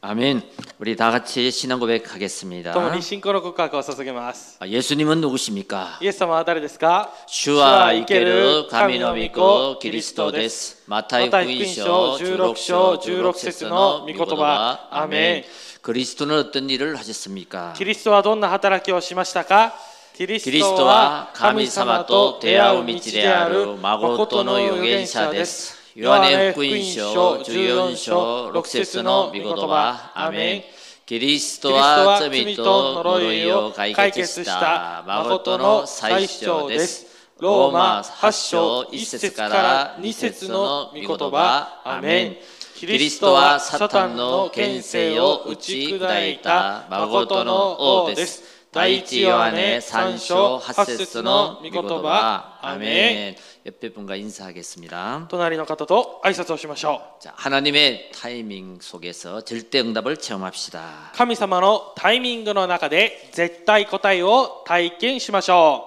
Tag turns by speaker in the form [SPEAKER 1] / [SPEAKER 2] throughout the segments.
[SPEAKER 1] 아멘. 우리 다 같이 신앙 고백하겠습니다.
[SPEAKER 2] 共に信仰の告白を捧げます。
[SPEAKER 1] 예수님은 누구십니까?
[SPEAKER 2] イエス様は誰ですか？
[SPEAKER 1] 주와 이케르 가미노 미코 그리스도 데스. 마타이福音書 16章 16節の御言葉。 아멘. 그리스도는 어떤 일을 하셨습니까?
[SPEAKER 2] キリストはどんな働きをしましたか？キリストは神様と出会う道である誠の預言者です。
[SPEAKER 1] 요한의福音書 14章 6節の御言葉。 아멘. 그리스도와罪と呪いを解決した誠の最主です。ローマ8章1節から2節の御言葉。 아멘. キリストはサタンの権勢を打ち砕いた誠の王です。第一ヨハネ3章8節の御言葉。 아멘. 옆에 분과 인사하겠습니다.
[SPEAKER 2] 隣の方と挨拶をしましょう。
[SPEAKER 1] 자, 하나님의 타이밍 속에서 절대 응답을 체험합시다.
[SPEAKER 2] 神様のタイミングの中で絶対答えを体験しましょ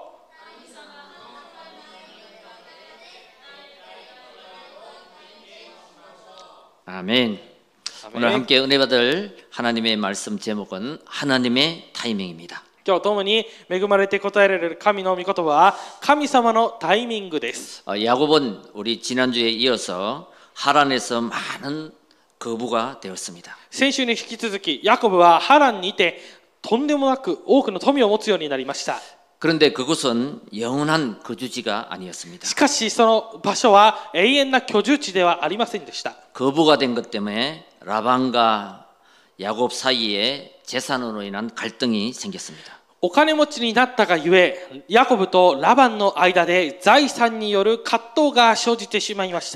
[SPEAKER 1] う。 아멘. 오늘 함께 은혜 받을 하나님의 말씀 제목은 하나님의 타이밍입니다.
[SPEAKER 2] 今日共に恵まれて答えられる神の御言葉は神様のタイミングです。
[SPEAKER 1] 야곱은 우리 지난주에 이어서 하란에서 많은 거부가 되었습니다.
[SPEAKER 2] 先週に引き続きヤコブはハランにてとんでもなく多くの富を持つようになりました。
[SPEAKER 1] 그런데 그곳은 영원한 거주지가 아니었습니다.
[SPEAKER 2] しかしその場所は永遠な居住地ではありませんでした。
[SPEAKER 1] 거부가 된 것 때문에 라반과 야곱 사이에 재산으로 인한 갈등이 생겼습니다.
[SPEAKER 2] お金持ちになったがゆえ、ヤコブとラバンの間で財産による葛藤が生じてしまいました。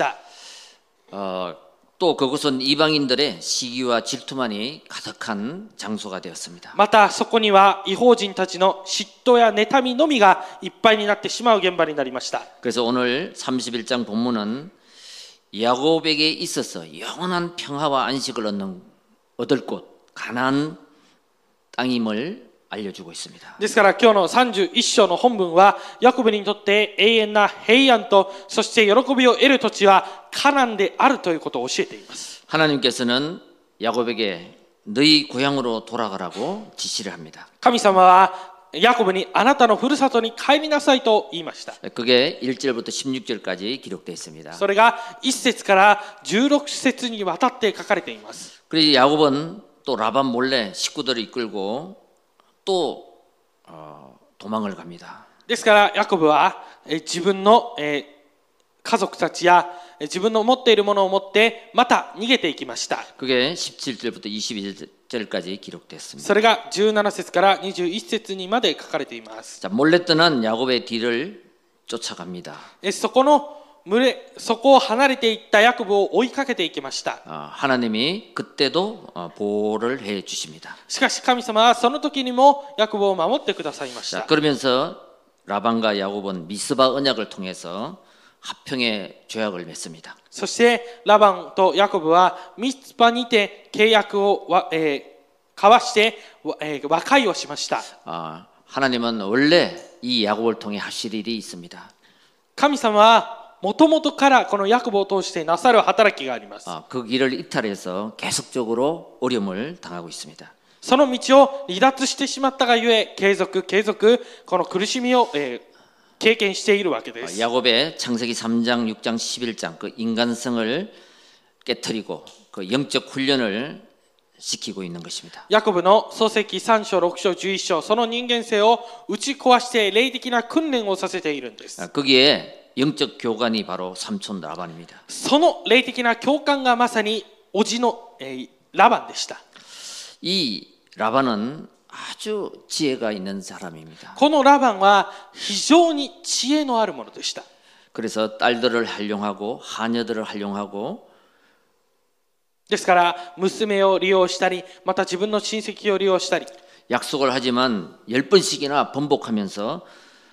[SPEAKER 1] 또 그곳은 이방인들의 시기와 질투만이 가득한 장소가 되었습니다.
[SPEAKER 2] またそこには異邦人たちの嫉妬や妬みのみがいっぱいになってしまう現場になりました。
[SPEAKER 1] 그래서 오늘 31장 본문은 야곱에게 있어서 영원한 평화와 안식을 얻을 곳 가나안 땅임을 알려주고 있습니다.
[SPEAKER 2] ですから今日の31章の本文はヤコブにとって永遠な平安とそして喜びを得る土地はカナンであるということを教えています。
[SPEAKER 1] 하나님께서는 야곱에게 너희 고향으로 돌아가라고 지시를 합니다.
[SPEAKER 2] 神様はヤコブにあなたのふるさとに帰りなさいと言いました。
[SPEAKER 1] 그게 1절부터 16절까지 기록되어 있습니다.
[SPEAKER 2] それが1節から16節にわたって書かれています。
[SPEAKER 1] 그래서 야곱은 또 라반 몰래 식구들을 이끌고 또 도망을 갑니다.
[SPEAKER 2] ですからヤコブは自分の家族たちや自分の持っているものを持ってまた逃げていきました。
[SPEAKER 1] 그게 17절부터 21절까지 기록됐습니다.
[SPEAKER 2] それが17節から21節にまで書かれています。
[SPEAKER 1] 자, 몰래 떠난 야곱의 뒤를 쫓아갑니다.
[SPEAKER 2] そこを離れていったヤコブを追いかけていきました。
[SPEAKER 1] 하나님이 그때도 보호를 해 주십니다.
[SPEAKER 2] しかし神様はその時にもヤコブを守ってくださいまし
[SPEAKER 1] 자,
[SPEAKER 2] た。
[SPEAKER 1] 그러면서 라반과 야곱은 미스바 언약을 통해서 합평의 조약을 맺습니다.
[SPEAKER 2] そしてラバンとヤコブはミツパにて契約を交わして和解をしました。
[SPEAKER 1] 하나님은 원래 이 야곱을 통해 하실 일이 있습니다.
[SPEAKER 2] 神様はもともとからこのヤコブを通してなさる働きがあります。
[SPEAKER 1] 그 길을 이탈해서 계속적으로 어려움을 당하고 있습니다.
[SPEAKER 2] その道を離脱してしまったがゆえ継続この苦しみを経験しているわけです。
[SPEAKER 1] 야곱의 창세기 3장, 6장, 11장 그 인간성을 깨뜨리고 그 영적 훈련을 시키고 있는 것입니다.
[SPEAKER 2] ヤコブの創世記3章6章11章その人間性を打ち壊して霊的な訓練をさせているんです。
[SPEAKER 1] 거기에 영적 교관이 바로 삼촌 라반입니다.
[SPEAKER 2] その霊的な教官がまさに叔父のラバンでした。
[SPEAKER 1] 이 라반은 아주 지혜가 있는 사람입니다.
[SPEAKER 2] このラバンは非常に知恵のあるものでした。
[SPEAKER 1] 그래서 딸들을 활용하고 하녀들을 활용하고
[SPEAKER 2] ですから娘を利用したりまた自分の親戚を利用したり
[SPEAKER 1] 약속을 하지만 10번씩이나 번복하면서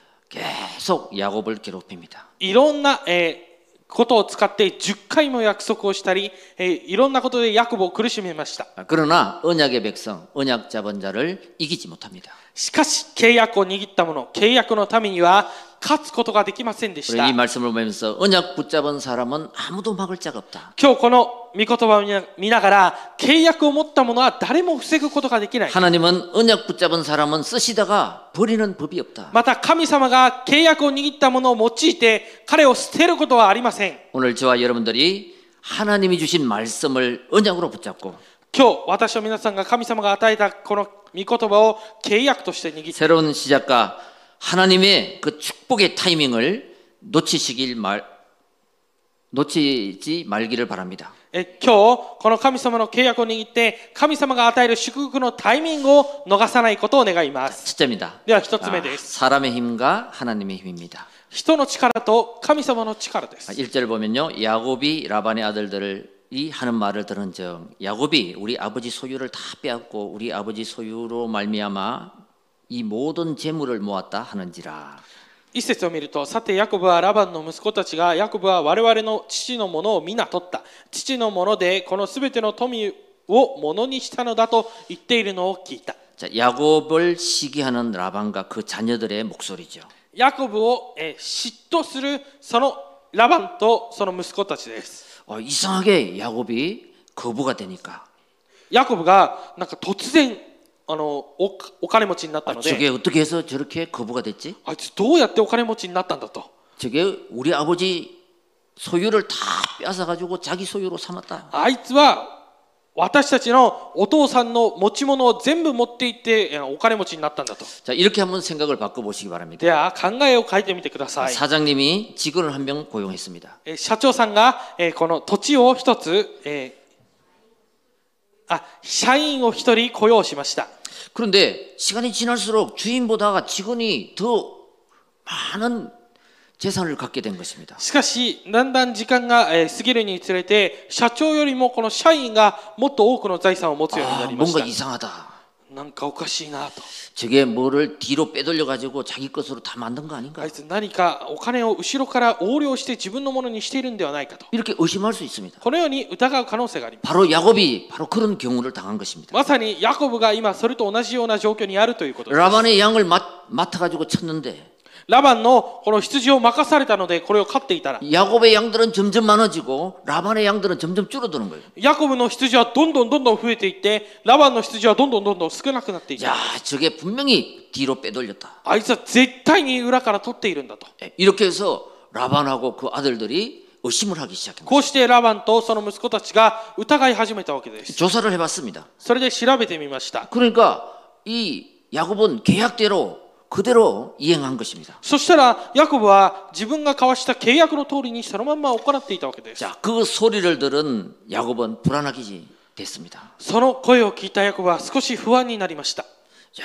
[SPEAKER 1] 계속 야곱을 괴롭힙니다.
[SPEAKER 2] いろんなことを使って10回も約束をしたりいろんなことでヤコブを苦しめました。
[SPEAKER 1] 그러나 언약의 백성, 언약 잡은 자를 이기지 못합니다.
[SPEAKER 2] しかし契約を握った者契約のためには勝つことができませんでし
[SPEAKER 1] 우리
[SPEAKER 2] た。
[SPEAKER 1] 이 말씀을 보면서 언약 붙잡은 사람은 아무도 막을 자가 없다.
[SPEAKER 2] 今日この御言葉を見ながら、契約を持った者は誰も防ぐことができない。
[SPEAKER 1] 하나님은 언약 붙잡은 사람은 쓰시다가 버리는 법이 없다.
[SPEAKER 2] また神様が契約を握った者を用いて彼を捨てることはありません。
[SPEAKER 1] 오늘 저와 여러분들이 하나님이 주신 말씀을 언약으로 붙잡고
[SPEAKER 2] 今日私と皆さんが神様が与えたこの御言葉を契約として握って、
[SPEAKER 1] 새로운 시작과 하나님의 그 축복의 타이밍을 놓치지 말기를 바랍니다.
[SPEAKER 2] 今日この神様の契約を握って神様が与える祝福のタイミングを逃さないことを願います。
[SPEAKER 1] 첫째입니다.
[SPEAKER 2] では一つ目です。
[SPEAKER 1] 사람의 힘과 하나님의 힘입니다.
[SPEAKER 2] 人の力と神様の力です。
[SPEAKER 1] 1절 보면요. 야곱이 라반의 아들들이 하는 말을 들은 즉 야곱이 우리 아버지 소유를 다 빼앗고 우리 아버지 소유로 말미암아 이 모든 재물을 모았다 하는지라.
[SPEAKER 2] 一節を見ると、さてヤコブはラバンの息子たちがヤコブは我々の父のものを皆取った。父のものでこのすべての富をものにしたのだと言っているのを聞いた。
[SPEAKER 1] 자, 야곱을 시기하는 라반과 그 자녀들의 목소리죠.
[SPEAKER 2] ヤコブを嫉妬するそのラバンとその息子たちです。
[SPEAKER 1] 이상하게 야곱이 거부가 되니까
[SPEAKER 2] ヤコブがなんか突然お金持ちになったので、
[SPEAKER 1] 저게 어떻게 해서 저렇게 거부가 됐지?
[SPEAKER 2] あいつどうやってお金持ちになったんだと。
[SPEAKER 1] 저게 우리 아버지 소유를 다 뺏어가지고 자기 소유로 삼았다.
[SPEAKER 2] あいつは私たちのお父さんの持ち物を全部持っていってお金持ちになったんだと。
[SPEAKER 1] 자, 이렇게 한번 생각을 바꿔보시기 바랍니다.
[SPEAKER 2] では考えを変えてみてください。
[SPEAKER 1] 사장님이 직원을 한 명 고용했습니다.
[SPEAKER 2] 社長さんがこの土地を一つ社員を一人雇用しました。
[SPEAKER 1] 그런데 시간이 지날수록 주인보다 직원이 더 많은 재산을 갖게 된 것입니다.
[SPEAKER 2] しかしだんだん時間が過ぎるにつれて社長よりもこの社員がもっと多くの財産を持つようになりました。
[SPEAKER 1] 뭔가 이상하다.
[SPEAKER 2] なんかおかしいなと。
[SPEAKER 1] 저게 뭐를 뒤로 빼돌려 가지고 자기 것으로 다 만든 거 아닌가?
[SPEAKER 2] あいつ何かお金を後ろから横領して自分のものにしているんではないかと。
[SPEAKER 1] 이렇게 의심할 수 있습니다.
[SPEAKER 2] このように疑う可能性があります。
[SPEAKER 1] 바로 야곱이 바로 그런 경우를 당한 것입니다.
[SPEAKER 2] まさにヤコブが今それと同じような状況にあるということです。
[SPEAKER 1] 라반의 양을 맡아 가지고 쳤는데
[SPEAKER 2] ラバンのこの羊を任されたのでこれを飼っていたら、
[SPEAKER 1] 야곱의 양들은 점점 많아지고 라반의 양들은 점점 줄어드는 거예요.
[SPEAKER 2] ヤコブの羊はどんどん増えていって、ラバンの羊はどんどん少なくなっていった。
[SPEAKER 1] 야, 저게 분명히 뒤로 빼돌렸다.
[SPEAKER 2] あいつは絶対に裏から取っているんだと。
[SPEAKER 1] 이렇게 해서 라반하고 그 아들들이 의심을 하기 시작합니다.
[SPEAKER 2] こうしてラバンとその息子たちが疑い始めたわけです。
[SPEAKER 1] 조사를 해봤습니다.
[SPEAKER 2] それで調べてみました。
[SPEAKER 1] 그러니까 이 야곱은 계약대로 그대로 이행한 것입니다.
[SPEAKER 2] そしたらヤコブは自分が交わした契約の通りにそのまま行っていたわけです。
[SPEAKER 1] 자, 그 소리를 들은 야곱은 불안하게 됐습니다.
[SPEAKER 2] その声を聞いたヤコブは少し不安になりました。
[SPEAKER 1] 자,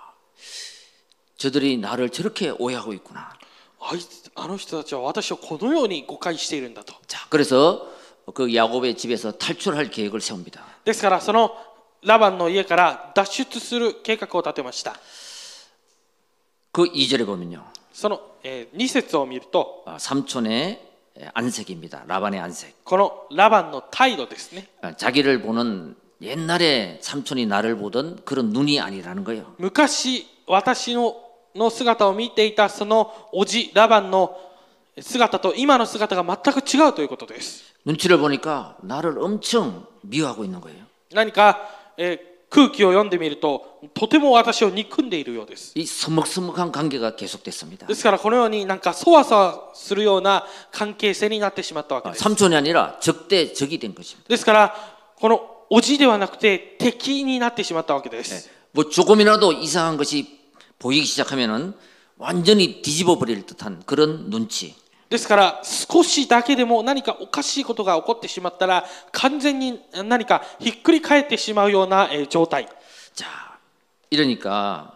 [SPEAKER 1] 저들이 나를 저렇게 오해하고 있구나.
[SPEAKER 2] あの人たちは私をこのように誤解しているんだと。
[SPEAKER 1] 자, 그래서 그 야곱의 집에서 탈출할 계획을 세웁니다.
[SPEAKER 2] ですからそのラバンの家から脱出する計画を立てました。
[SPEAKER 1] 그 2절에 보면요.
[SPEAKER 2] その2節を見ると、
[SPEAKER 1] 삼촌의 안색입니다. 라반의 안색.
[SPEAKER 2] このラバンの態度ですね。
[SPEAKER 1] 자기를 보는 옛날에 삼촌이 나를 보던 그런 눈이 아니라는 거예요.
[SPEAKER 2] 昔私の姿を見ていたそのおじラバンの姿と今の姿が全く違うということです。
[SPEAKER 1] 눈치를 보니까 나를 엄청 미워하고 있는 거예요.
[SPEAKER 2] 何か、空気を読んでみるととても私を憎んでいるようです。
[SPEAKER 1] 이 서먹서먹한 관계가 계속됐습니다.
[SPEAKER 2] ですからこのようになんかそわそわするような関係性になってしまったわけです。
[SPEAKER 1] 삼촌이 아니라 적대 적이 된 것입니다.
[SPEAKER 2] ですからこのおじではなくて敵になってしまったわけです。
[SPEAKER 1] 뭐 조금이라도 이상한 것이 보이기 시작하면은 완전히 뒤집어 버릴 듯한 그런 눈치.
[SPEAKER 2] ですから少しだけでも何かおかしいことが起こってしまったら完全に何かひっくり返ってしまうような状態。
[SPEAKER 1] 자, 이러니까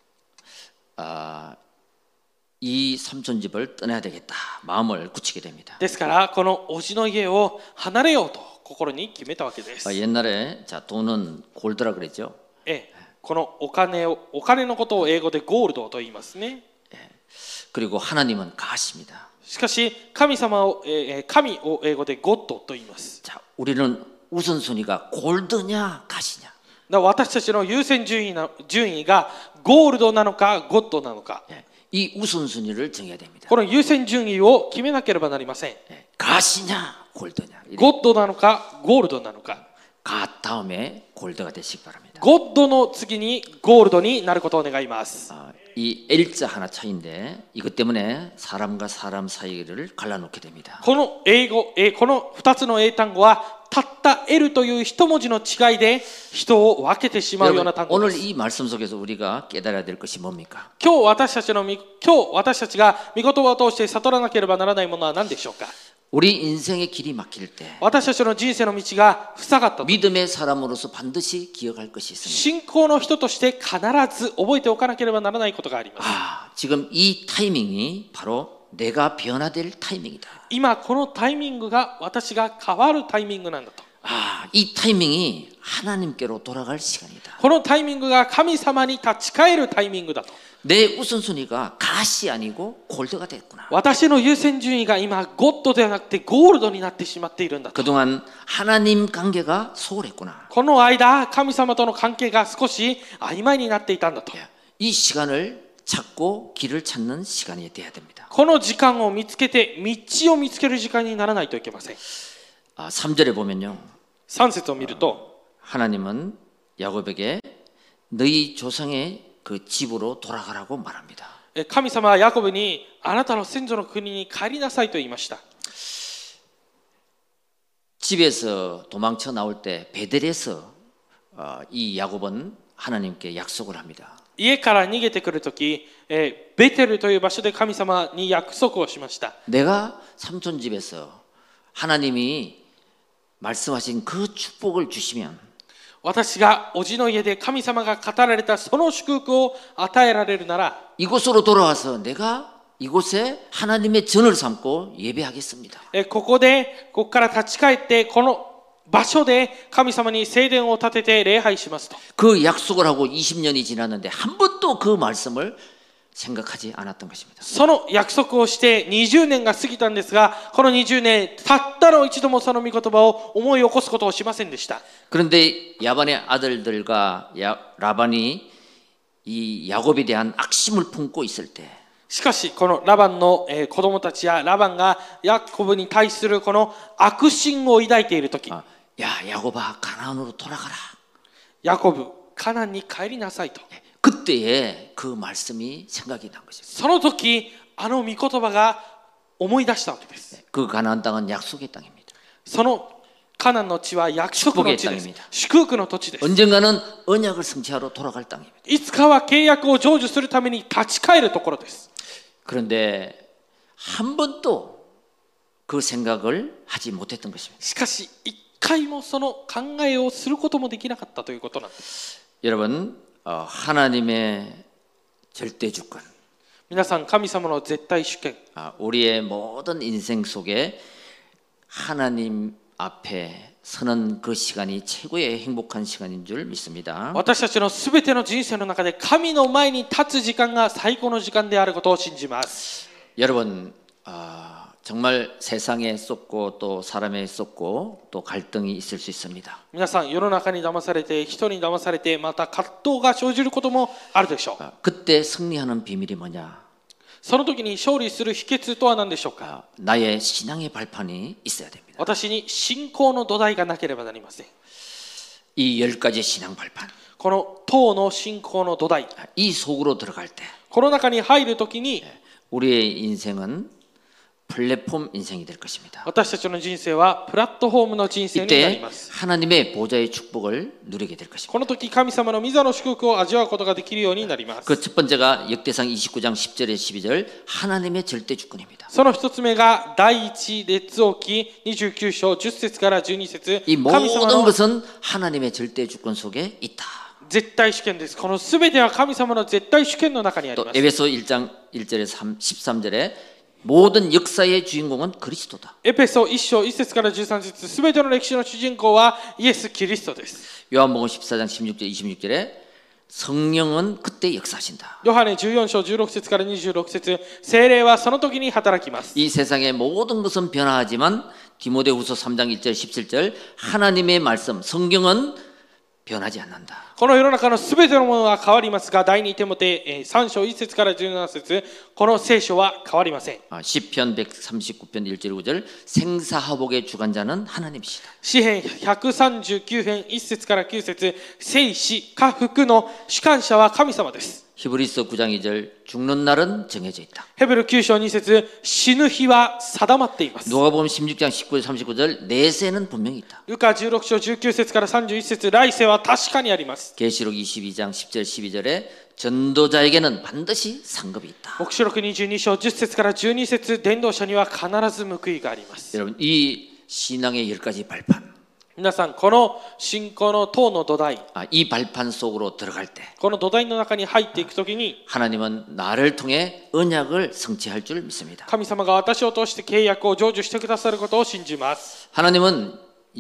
[SPEAKER 1] 이 삼촌 집을 떠나야 되겠다. 마음을 굳히게 됩니다.
[SPEAKER 2] ですからこのおじの家を離れようと心に決めたわけです。
[SPEAKER 1] 옛날에 자 돈은 골드라 그랬죠.
[SPEAKER 2] このお金のことを英語でゴールドと言いますね。
[SPEAKER 1] 그리고 하나님은 가십니다.
[SPEAKER 2] しかし神を英語でゴッドと言います。
[SPEAKER 1] 자, 우리는 우선순위가 골드냐 가시냐.
[SPEAKER 2] 私たちの優先順位がゴールドなのかゴッドなのか。
[SPEAKER 1] 이 우선순위를 정해야 됩니다.
[SPEAKER 2] この優先順位を決めなければなりません。
[SPEAKER 1] 가시냐 골드냐.
[SPEAKER 2] ゴッドなのかゴールドなのか。
[SPEAKER 1] 가 다음에 골드가 되시기 바랍니다.
[SPEAKER 2] ゴッドの次にゴールドになることを願います。
[SPEAKER 1] 이 L자 하나 차이인데 이것 때문에 사람과 사람 사이를 갈라놓게 됩니다.
[SPEAKER 2] この2つの英単語はたった L という一文字の違いで人を分けてしまうような単語で
[SPEAKER 1] 오늘
[SPEAKER 2] す。
[SPEAKER 1] 이 말씀 속에서 우리가 깨달아야 될 것이 뭡니까?
[SPEAKER 2] 今日私たちが御言葉を通して悟らなければならないものは何でしょうか。
[SPEAKER 1] 우리 인생의 길이 막힐 때
[SPEAKER 2] 私たちの人生の道が塞がったと。
[SPEAKER 1] 믿음의 사람으로서 반드시 기억할 것이 있습니다.
[SPEAKER 2] 信仰の人として必ず覚えておかなければならないことがあります。
[SPEAKER 1] 지금 이 타이밍이 바로 내가 변화될 타이밍이다.
[SPEAKER 2] 今このタイミングが私が変わるタイミングなんだと。
[SPEAKER 1] 이 타이밍이 하나님께로 돌아갈 시간이다.
[SPEAKER 2] このタイミングが神様に立ち返るタイミングだと。
[SPEAKER 1] 내 우선순위가 가시 아니고 골드가 됐구나.
[SPEAKER 2] 私の優先順位が今ゴッドではなくてゴールドになってしまっているんだと。
[SPEAKER 1] 그동안 하나님 관계가 소홀했구나.
[SPEAKER 2] この間神様との関係が少し曖昧になっていたんだと。
[SPEAKER 1] 이 시간을 찾고 길을 찾는 시간이 돼야 됩니다.
[SPEAKER 2] この時間を見つけて道を見つける時間にならないといけません。
[SPEAKER 1] 3절에 보면요.
[SPEAKER 2] 3節を見ると
[SPEAKER 1] 하나님은 야곱에게 너희 조상의 그 집으로 돌아가라고 말합니다.
[SPEAKER 2] 神様はヤコブにあなたの先祖の国に帰りなさいと言いました。
[SPEAKER 1] 집에서 도망쳐 나올 때 베델에서 이 야곱은 하나님께 약속을 합니다.
[SPEAKER 2] 家から逃げてくるとき、ベテルという場所で神様に約束をしました。
[SPEAKER 1] 내가 삼촌 집에서 하나님이 말씀하신 그 축복을 주시면
[SPEAKER 2] 私がおじの家で神様が語られたその祝福を与えられるなら
[SPEAKER 1] 이곳으로 돌아와서 내가 이곳에 하나님의 전을 삼고 예배하겠습니다.
[SPEAKER 2] ここから立ち返ってこの場所で神様に聖殿を建てて礼拝しますと。
[SPEAKER 1] 그 약속을 하고 20년이 지났는데 한 번도 그 말씀을 생각하지 않았던 것입니다.
[SPEAKER 2] その約束をして20年が過ぎたんですが、この20年たったの一度もその御言葉を思い起こすことをしませんでした。
[SPEAKER 1] 그런데 야반의 아들들과 라반이 이 야곱에 대한 악심을 품고 있을 때
[SPEAKER 2] しかしこのラバンの子供たちやラバンがヤコブに対するこの悪心を抱いているとき、
[SPEAKER 1] 야 야곱아 가나안으로 돌아가라.
[SPEAKER 2] ヤコブカナンに帰りなさいと。
[SPEAKER 1] 그때에 그 말씀이 생각이 난 것입니다.
[SPEAKER 2] その時あの御言葉が思い出したわけです。
[SPEAKER 1] 그 가나안 땅은 약속의 땅입니다.
[SPEAKER 2] そのカナンの地は約束の地です。祝福の土地です。
[SPEAKER 1] 언젠가는 언약을 성취하러 돌아갈 땅입니다.
[SPEAKER 2] いつかは契約を成就するために立ち返るところです。
[SPEAKER 1] 그런데 한 번도 그 생각을 하지 못했던 것입니다.
[SPEAKER 2] しかし一回もその考えをすることもできなかったということなんです。
[SPEAKER 1] 여러분 하나님의 절대 주권
[SPEAKER 2] 皆さん神様の絶対主権
[SPEAKER 1] 우리의 모든 인생 속에 하나님 앞에 서는 그 시간이 최고의 행복한 시간인 줄 믿습니다.
[SPEAKER 2] 私たちのすべての人生の中で神の前に立つ時間が最高の時間であることを信じます。
[SPEAKER 1] 여러분 정말 세상에 쏟고 또 사람에 쏟고 또 갈등이 있을 수 있습니다.
[SPEAKER 2] 皆さん世の中に騙されて人に騙されてまた葛藤が生じることもあるでしょう。
[SPEAKER 1] 그때 승리하는 비밀이 뭐냐?
[SPEAKER 2] その時に勝利する秘訣とは何でしょうか。
[SPEAKER 1] 나의 신앙의 발판이 있어야 됩니다.
[SPEAKER 2] 私に信仰の土台がなければなりません。
[SPEAKER 1] 이 10가지 신앙 발판.
[SPEAKER 2] この10の信仰の土台。
[SPEAKER 1] 이 속으로 들어갈 때
[SPEAKER 2] この中に入る時に
[SPEAKER 1] 우리의 인생은 플랫폼 인생이 될 것입니다.
[SPEAKER 2] 私たちの人生はプラットフォームの人生になり
[SPEAKER 1] 이때
[SPEAKER 2] ます。
[SPEAKER 1] 하나님의 보좌의 축복을 누리게 될 것입니다.
[SPEAKER 2] この時神様の御座の祝福を味わうことができるようになります。
[SPEAKER 1] 그 첫 번째가 역대상 29장 10절에 12절 하나님의 절대 주권입니다.
[SPEAKER 2] その一つ目が第一列王記29章10節から12節
[SPEAKER 1] 이
[SPEAKER 2] 神様
[SPEAKER 1] 모든
[SPEAKER 2] の
[SPEAKER 1] 것은 하나님의 절대 주권 속에 있다.
[SPEAKER 2] 絶対主権です。このすべては神様の絶対主権の中にあり
[SPEAKER 1] 또
[SPEAKER 2] ます。
[SPEAKER 1] 에베소 1장 1절에 13절에 모든 역사의 주인공은 그리스도다.
[SPEAKER 2] エペソ1章1節から13節すべての歴史の主人公はイエス・キリストです。
[SPEAKER 1] 요한복음 14장 16절 26절에 성령은 그때 역사하신다.
[SPEAKER 2] ヨハネ14章16節から26節聖霊はその時に働きます。
[SPEAKER 1] 이 세상의 모든 것은 변화하지만 디모데후서 3장 1절 17절 하나님의 말씀 성경은 변하지 않는다.
[SPEAKER 2] この世の中のすべてのものは変わりますが、第2テモテ3章1節から17節、この聖書は変わりません。
[SPEAKER 1] 시편 139편 1절 5절 생사화복의 주관자는 하나님이시다.
[SPEAKER 2] 詩編139編1節から9節、生死禍福の主管者は神様です。
[SPEAKER 1] 히브리서 9장 2절 죽는 날은 정해져 있다.
[SPEAKER 2] ヘブル9章2節、死ぬ日は定まっています。
[SPEAKER 1] 누가복음 16장 19절 39절 내세는 분명히 있다.
[SPEAKER 2] ルカ16章19節から31節、来世は確かにあります。
[SPEAKER 1] 계시록 22장 10절 12절에 전도자에게는 반드시 상급이 있다.
[SPEAKER 2] 黙示録22章10節から12節、伝道者には必ず報いがあります。
[SPEAKER 1] 여러분 이 신앙의 10가지 발판,
[SPEAKER 2] 皆さん、この信仰の塔の土台、
[SPEAKER 1] 이 발판 속으로 들어갈 때
[SPEAKER 2] この土台の中に入っていくときに、
[SPEAKER 1] 하나님은 나를 통해 언약을 성취할 줄 믿습니다.
[SPEAKER 2] 神様が私を通して契約を成就してくださることを信じます。
[SPEAKER 1] 하나님은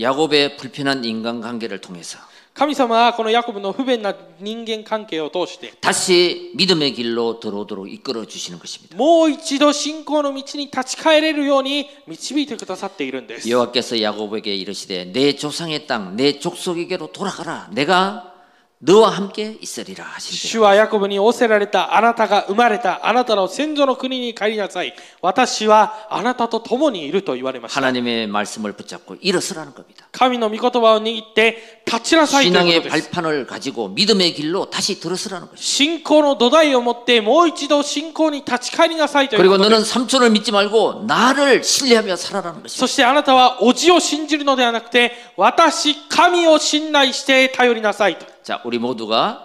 [SPEAKER 1] 야곱의 불편한 인간관계를 통해서
[SPEAKER 2] 神様はこのヤコブの不便な人間関係を通して、
[SPEAKER 1] 다시 믿음의 길로 들어오도록 이끌어 주시는 것입니다.
[SPEAKER 2] もう一度信仰の道に立ち返れるように導いてくださっているんです。
[SPEAKER 1] 여호와께서 야곱에게 이르시되 내 조상의 땅 내 족속에게로 돌아가라. 내가 너와 함께 있으리라 하신대.
[SPEAKER 2] 主はヤコブに仰せられた。あなたが生まれたあなたの先祖の国に帰りなさい。私はあなたと共にいると言われました。
[SPEAKER 1] 하나님의 말씀을 붙잡고 일어서라는 겁니다.
[SPEAKER 2] 神の御言葉を握って立ちなさいというこ
[SPEAKER 1] 신앙의
[SPEAKER 2] とです。
[SPEAKER 1] 발판을 가지고 믿음의 길로 다시 들어서라는 것입니다.
[SPEAKER 2] 信仰の土台を持ってもう一度信仰に立ち返りなさいという
[SPEAKER 1] 그리고
[SPEAKER 2] ことで
[SPEAKER 1] 너는
[SPEAKER 2] す。
[SPEAKER 1] 삼촌을 믿지 말고 나를 신뢰하며 살아라는 것입니다.
[SPEAKER 2] そしてあなたは叔父を信じるのではなくて、私神を信頼して頼りなさいと。
[SPEAKER 1] 자, 우리 모두가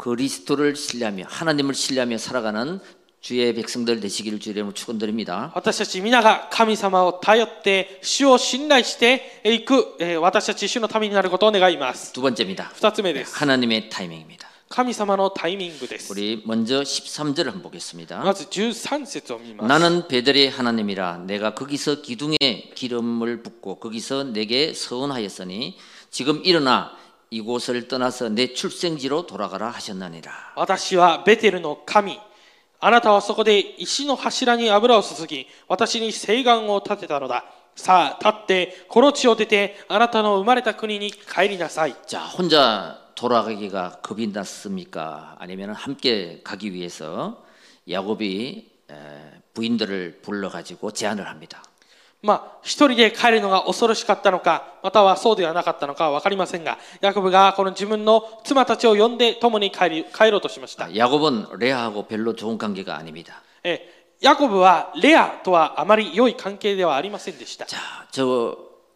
[SPEAKER 1] 그리스도를 신뢰하며 하나님을 신뢰하며 살아가는 주의 백성들 되시기를 주의 이름으로 축원드립니다.
[SPEAKER 2] 私たち皆が神様を頼って主を信頼していく、私たち主のためになることを願います。
[SPEAKER 1] 두 번째입니다.
[SPEAKER 2] 2つ目です。
[SPEAKER 1] 하나님의 타이밍입니다.
[SPEAKER 2] 神様のタイミングです。
[SPEAKER 1] 우리 먼저 13절을 한번 보겠습니다.
[SPEAKER 2] まず13節を見ます。
[SPEAKER 1] 나는 베델의 하나님이라 내가 거기서 기둥에 기름을 붓고 거기서 내게 서원하였으니 지금 일어나 이곳을 떠나서 내 출생지로 돌아가라 하셨나니라.
[SPEAKER 2] 私はベテルの神。あなたはそこで石の柱に油を注ぎ、私に誓願を立てたのだ。さあ、立ってこの地を出て、あなたの生まれた国に帰りなさい。
[SPEAKER 1] 자, 혼자 돌아가기가 겁이 났습니까? 아니면 함께 가기 위해서 야곱이 부인들을 불러가지고 제안을 합니다.
[SPEAKER 2] 一人で帰るのが恐ろしかったのか、またはそうではなかったのかは分かりませんが、ヤコブがこの自分の妻たちを呼んで共に帰ろうとしました。
[SPEAKER 1] 야곱은 레아하고 별로 좋은 관계가 아닙니다.
[SPEAKER 2] ヤコブはレアとはあまり良い関係ではありませんでした。
[SPEAKER 1] 자, 저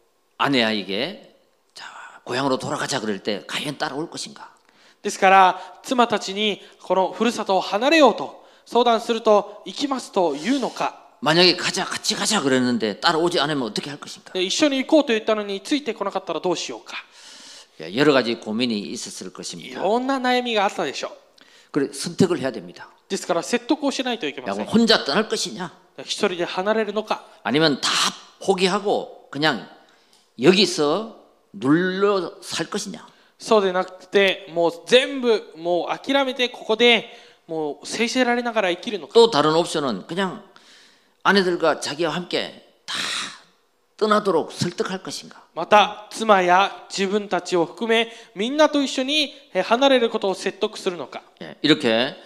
[SPEAKER 1] 아내에게 자, 고향으로 돌아가자 그럴 때 과연 따라올 것인가?
[SPEAKER 2] ですから妻たちにこのふるさとを離れようと相談すると行きますと言うのか。
[SPEAKER 1] 만약에 같이 가자 그랬는데 따라오지 않으면 어떻게 할 것인가?
[SPEAKER 2] 一緒に行こうと言ったのについてこなかったらどうしようか。
[SPEAKER 1] 여러 가지 고민이 있었을
[SPEAKER 2] い
[SPEAKER 1] 것입니다.
[SPEAKER 2] ろんな悩みがあったでしょう。
[SPEAKER 1] 그래 선택을 해야 됩니다.
[SPEAKER 2] ですから説得をしないといけませ
[SPEAKER 1] 야곱
[SPEAKER 2] ん。
[SPEAKER 1] 혼자 떠날 것이냐?
[SPEAKER 2] 一人で離れるのか、
[SPEAKER 1] 아니면 다 포기하고 그냥 여기서 눌러 살 것이냐?
[SPEAKER 2] そうでなくてもう全部もう諦めてここでもうせいせられながら生きるのか。
[SPEAKER 1] 또 다른 옵션은 그냥 아내들과 자기와 함께 다 떠나도록 설득할 것인가?
[SPEAKER 2] また妻や自分たちを含めみんなと一緒に離れることを説得するのか。
[SPEAKER 1] 이렇게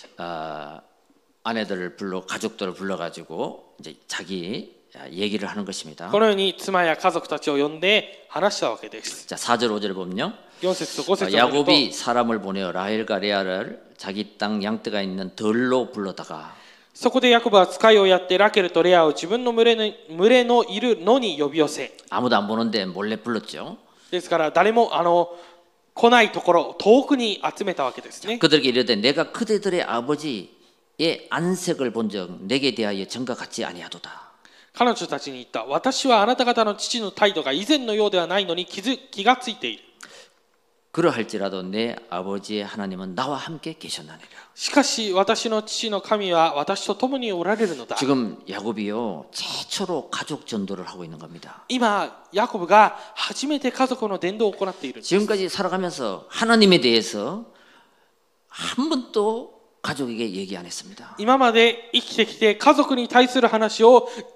[SPEAKER 1] 아내들을 가족들을 불러가지고 이제 자기 얘기를 하는 것입니다.
[SPEAKER 2] このように妻や家族たちを呼んで話したわけです。
[SPEAKER 1] 자, 4절 5절 보면요.
[SPEAKER 2] 4節と5節を見ると、
[SPEAKER 1] 야곱이 사람을 보내어 라헬과 레아를 자기 땅 양떼가 있는 들로 불러다가
[SPEAKER 2] そこでヤコブは使いをやってラケルとレアを自分の群れのいる野に呼び寄せ、
[SPEAKER 1] 아무도 안 보는데 몰래 불렀죠.
[SPEAKER 2] ですから誰も来ないところ遠くに集めたわけですね。
[SPEAKER 1] 그들에게 이르되 내가 그대들의 아버지의 안색을 본 적 내게 대하여 전과 같지 아니하도다.
[SPEAKER 2] 彼女たちに言った。私はあなた方の父の態度が以前のようではないのに気がついている。
[SPEAKER 1] 그러할지라도 내 아버지의 하나님은 나와 함께 계셨나니라.
[SPEAKER 2] しかし私の父の神は私と共におられるのだ。
[SPEAKER 1] 지금 야곱이요 최초로 가족 전도를 하고 있는 겁니다.
[SPEAKER 2] 今ヤコブが初めて家族の伝道を行っているんです。
[SPEAKER 1] 지금까지 살아가면서 하나님에 대해서 한 번도 가족에게 얘기 안 했습니다.
[SPEAKER 2] 今まで生きてきて家族に対する話を一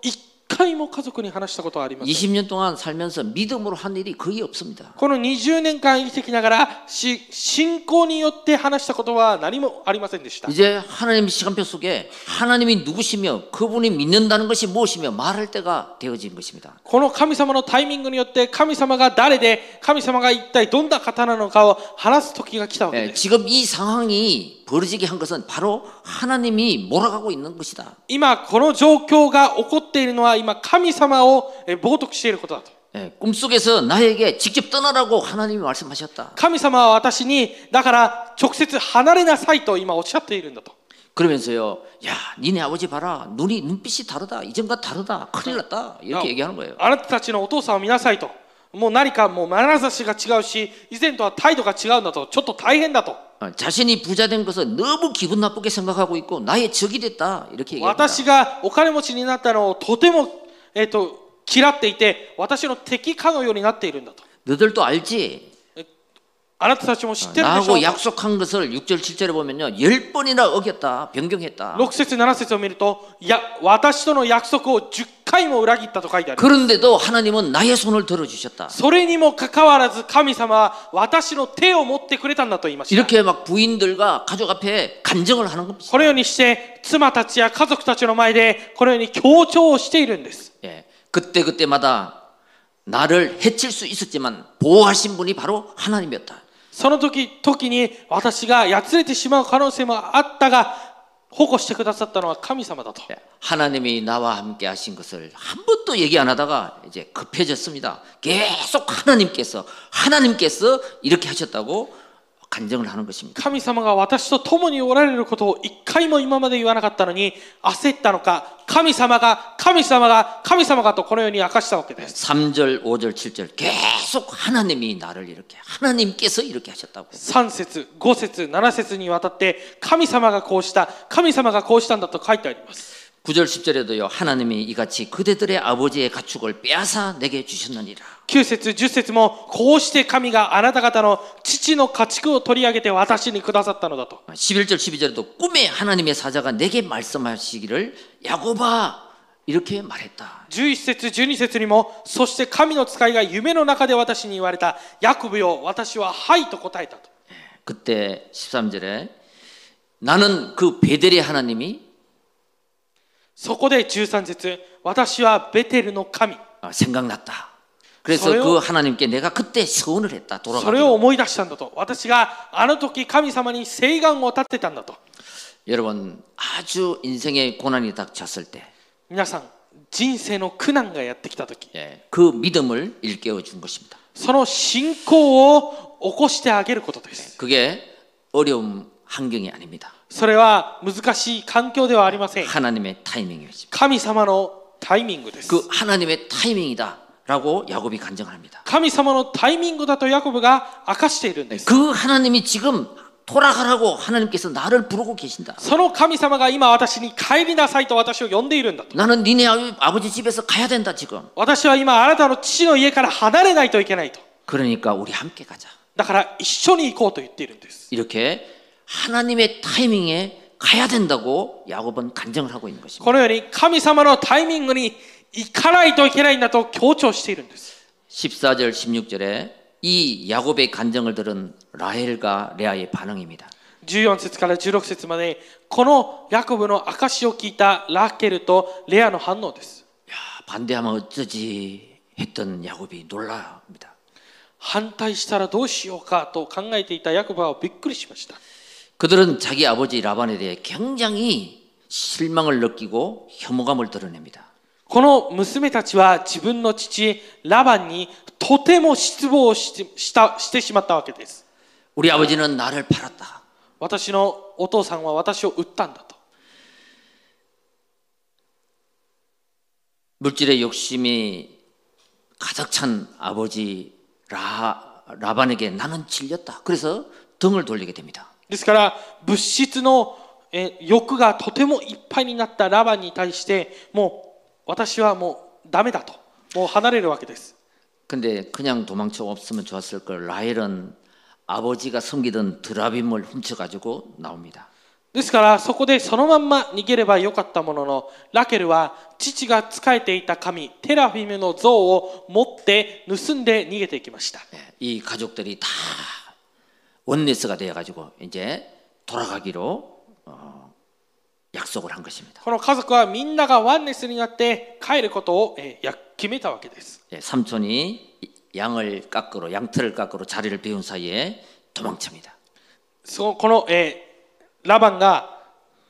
[SPEAKER 2] 回も家族に話したことはありません。
[SPEAKER 1] 20년 동안 살면서 믿음으로 한 일이 거의 없습니다.
[SPEAKER 2] この20年間生きてきながら信仰によって話したことは何もありませんでした。
[SPEAKER 1] 이제 하나님 시간표 속에 하나님이 누구시며 그분이 믿는다는 것이 무엇이며 말할 때가 되어진 것입니다.
[SPEAKER 2] この神様のタイミングによって神様が誰で神様が一体どんな方なのかを話す時が来たわけです。
[SPEAKER 1] 지금 이 상황이 벌어지게 한 것은 바로 하나님이 몰아가고 있는 것이다.
[SPEAKER 2] 今この状況が起こっているのは今神様を冒涜していることだと。
[SPEAKER 1] 꿈속에서 나에게 직접 떠나라고 하나님이 말씀하셨다.
[SPEAKER 2] 神様は私にだから直接離れなさいと今おっしゃっているんだと。
[SPEAKER 1] 그러면서요, 야, 니네 아버지 봐라, 눈빛이 다르다, 이전과 다르다, 큰일 났다, 이렇게 얘기하는 거예요.
[SPEAKER 2] あなたたちのお父さんを見なさいと。もう何かもう眼差しが違うし、以前とは態度が違うんだと。ちょっと大変だと。
[SPEAKER 1] 자신이 부자 된 것을 너무 기분 나쁘게 생각하고 있고 나의 적이 됐다 이렇게 얘기합니다.
[SPEAKER 2] 私がお金持ちになったのをとても嫌っていて、私の敵かのようになっているんだと。
[SPEAKER 1] 너들도 알지?
[SPEAKER 2] あなたたちも知ってるでしょ
[SPEAKER 1] 나하고
[SPEAKER 2] う。
[SPEAKER 1] 약속한 것을 6절 7절에 보면요 10번이나 어겼다 변경했다.
[SPEAKER 2] 6節7節を見ると、いや私との約束を10回も裏切ったと書いてある。
[SPEAKER 1] 그런데도 하나님은 나의 손을 들어주셨다.
[SPEAKER 2] それにもかかわらず神様は私の手を持ってくれたんだと言いました。
[SPEAKER 1] 이렇게 막 부인들과 가족 앞에 간증을 하는 겁니다.
[SPEAKER 2] このようにして妻たちや家族たちの前でこのように強調をしているんです。
[SPEAKER 1] 예, 그때마다 나를 해칠 수 있었지만 보호하신 분이 바로 하나님이었다.
[SPEAKER 2] その時に私がやつれてしまう可能性もあったが保護してくださったのは神様だと。
[SPEAKER 1] 하나님이 나와 함께 하신 것을 한 번도 얘기 안 하다가 이제 급해졌습니다. 계속 하나님께서 이렇게 하셨다고 간증을 하는 것입니다.
[SPEAKER 2] 神様が私と共におられることを一回も今まで言わなかったのに焦ったのか、神様がとこのように明かしたわけです。
[SPEAKER 1] 3절, 5절, 7절 계속 하나님이 나를 이렇게 하나님께서 이렇게 하셨다고.
[SPEAKER 2] 3節、5節、7節にわたって神様がこうしたんだと書いてあります。
[SPEAKER 1] 9절 10절에도요 하나님이 이같이 그대들의 아버지의 가축을 빼앗아 내게 주셨느니라.
[SPEAKER 2] 9節10節もこうして神があなた方の父の家畜を取り上げて私にくださったのだと。
[SPEAKER 1] 11절 12절에도 꿈에 하나님의 사자가 내게 말씀하시기를 야곱아 이렇게 말했다.
[SPEAKER 2] 11節12節にもそして神の使いが夢の中で私に言われたヤコブよ私ははいと答えたと。
[SPEAKER 1] 그때 13절에 나는 그 베델의 하나님이
[SPEAKER 2] そこで13節私はベテルの神
[SPEAKER 1] 생각났다. 그래서 그 하나님께 내가 그때 서원을 했다.
[SPEAKER 2] それを思い出したんだと。私があの時神様に誓願を立てたんだと。
[SPEAKER 1] 여러분 아주 인생의 고난이 닥쳤을 때
[SPEAKER 2] 皆さん人生の苦難がやってきた時、
[SPEAKER 1] 그 믿음을 일깨워 준 것입니다.
[SPEAKER 2] その信仰を起こしてあげることです。
[SPEAKER 1] 그게 어려운 환경이 아닙니다.
[SPEAKER 2] それは難しい環境ではありません。
[SPEAKER 1] 하나님의 타이밍이었습니다.
[SPEAKER 2] 神様のタイミングです。
[SPEAKER 1] 그 하나님의 타이밍이다라고 야곱이 간증합니다.
[SPEAKER 2] 神様のタイミングだとヤコブが明かしているんです。
[SPEAKER 1] 그 하나님이 지금 돌아가라고 하나님께서 나를 부르고 계신다.
[SPEAKER 2] その神様が今私に帰りなさいと私を呼んでいるんだと。
[SPEAKER 1] 나는 니네 아버지 집에서 가야 된다 지금.
[SPEAKER 2] 私は今あなたの父の家から離れないといけないと。
[SPEAKER 1] 그러니까 우리 함께 가자.
[SPEAKER 2] だから一緒に行こうと言っているんです。
[SPEAKER 1] 이렇게 하나님의 타이밍에 가야 된다고 야곱은 간증을 하고 있는 것입니다.
[SPEAKER 2] このように神様のタイミングに行かないといけないんだと強調しているんです。
[SPEAKER 1] 14절 16절에 이 야곱의 간증을 들은 라헬과 레아의 반응입니다.
[SPEAKER 2] 14節から16節までこのヤコブの証を聞いたラケルとレアの反応です。
[SPEAKER 1] 야, 반대하면 어쩌지 했던 야곱이 놀랍니다.
[SPEAKER 2] 反対したらどうしようかと考えていたヤコブはびっくりしました。
[SPEAKER 1] 그들은 자기 아버지 라반에 대해 굉장히 실망을 느끼고 혐오감을 드러냅니다.
[SPEAKER 2] この娘たちは自分の父ラバンにとても失望してしまったわけです。
[SPEAKER 1] 우리 아버지는 나를 팔았다.
[SPEAKER 2] 私のお父さんは私を売ったんだと。
[SPEAKER 1] 물질의 욕심이 가득 찬 아버지 라반에게 나는 질렸다. 그래서 등을 돌리게 됩니다.
[SPEAKER 2] ですから物質の欲がとてもいっぱいになったラバンに対してもう私はもうダメだともう離れるわけです。
[SPEAKER 1] 근데 그냥 도망쳐 없으면 좋았을 걸. 라헬은 아버지가 섬기던 드라빔을 훔쳐가지고 나옵니다.
[SPEAKER 2] ですからそこでそのまんま逃げればよかったものの、ラケルは父が仕えていた神テラフィムの像を持って盗んで逃げていきました。
[SPEAKER 1] 이 가족들이 다 원네스가 되어가지고 이제 돌아가기로 약속을 한 것입니다.
[SPEAKER 2] この家族はみんながワンネスになって帰ることを決めたわけです。
[SPEAKER 1] 삼촌이 양털을 깎으러 자리를 비운 사이에 도망칩니다.
[SPEAKER 2] このラバンが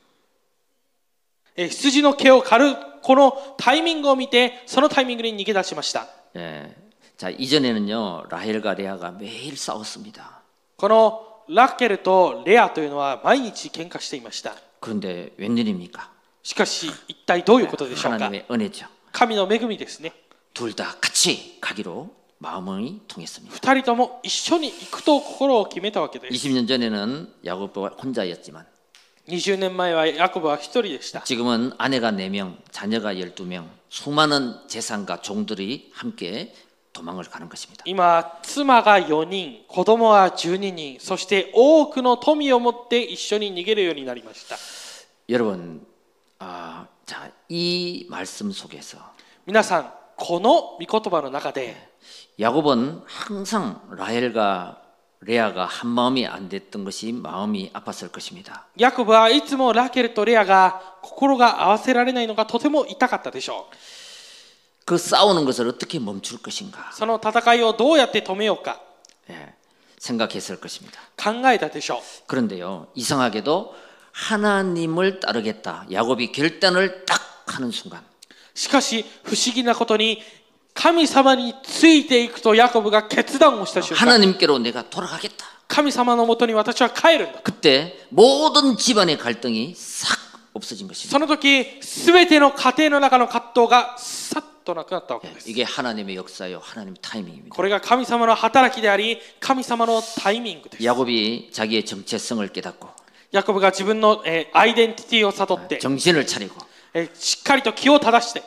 [SPEAKER 2] 羊の毛を刈るこのタイミングを見て、そのタイミングに逃げ出しました。
[SPEAKER 1] 자, 이전에는요 라헬과 레아가 매일 싸웠습니다.
[SPEAKER 2] このラケルとレアというのは毎日喧嘩していました。
[SPEAKER 1] 그런데 웬일입니까?
[SPEAKER 2] しかし一体どういうことでしょうか。
[SPEAKER 1] 하나님의 은혜죠.
[SPEAKER 2] 神の恵みですね。
[SPEAKER 1] 둘 다 같이 가기로 마음이 통했습니다.
[SPEAKER 2] 二人とも一緒に行くと心を決めたわけです。
[SPEAKER 1] 20년 전에는 야곱과 혼자였지만
[SPEAKER 2] 20年前はヤコブは一人でした。
[SPEAKER 1] 지금은 아내가 4명, 자녀가 12명, 수많은 재산과 종들이 함께 도망을 가는 것입니다.
[SPEAKER 2] 今妻が4人、子供は12人、そして多くの富を持って一緒に逃げるようになりました。
[SPEAKER 1] 여러분, 자, 이 말씀 속에서
[SPEAKER 2] 皆さん、この御言葉の中で
[SPEAKER 1] 야곱은 항상 라헬과 레아가 한 마음이 안 됐던 것이 마음이 아팠을 것입니다.
[SPEAKER 2] ヤコブはいつもラケルとレアが心が合わせられないのがとても痛かったでしょう。
[SPEAKER 1] 그 싸우는 것을 어떻게 멈출 것인가?
[SPEAKER 2] その戦いをどうやって止めようか
[SPEAKER 1] 생각했을 것입니다.
[SPEAKER 2] 考えたでしょう。
[SPEAKER 1] 그런데요, 이상하게도 하나님을 따르겠다. 야곱이 결단을 딱 하는 순간
[SPEAKER 2] しかし不思議なことに神様についていくとヤコブが決断をした瞬間、
[SPEAKER 1] 하나님께로 내가 돌아가겠다.
[SPEAKER 2] 神様のもとに私は帰るんだ。
[SPEAKER 1] 그때 모든 집안의 갈등이 싹 없어진 것입니다.
[SPEAKER 2] その時すべての家庭の中の葛藤がさっとなくなったわけです。
[SPEAKER 1] 이게 하나님의 역사요, 하나님의 타이밍입니다.
[SPEAKER 2] これが神様の働きであり、神様のタイミングです。
[SPEAKER 1] 야곱이 자기의 정체성을 깨닫고
[SPEAKER 2] ヤコブが自分のアイデンティティを悟って、
[SPEAKER 1] 정신을 차리고
[SPEAKER 2] しっかりと気を正して、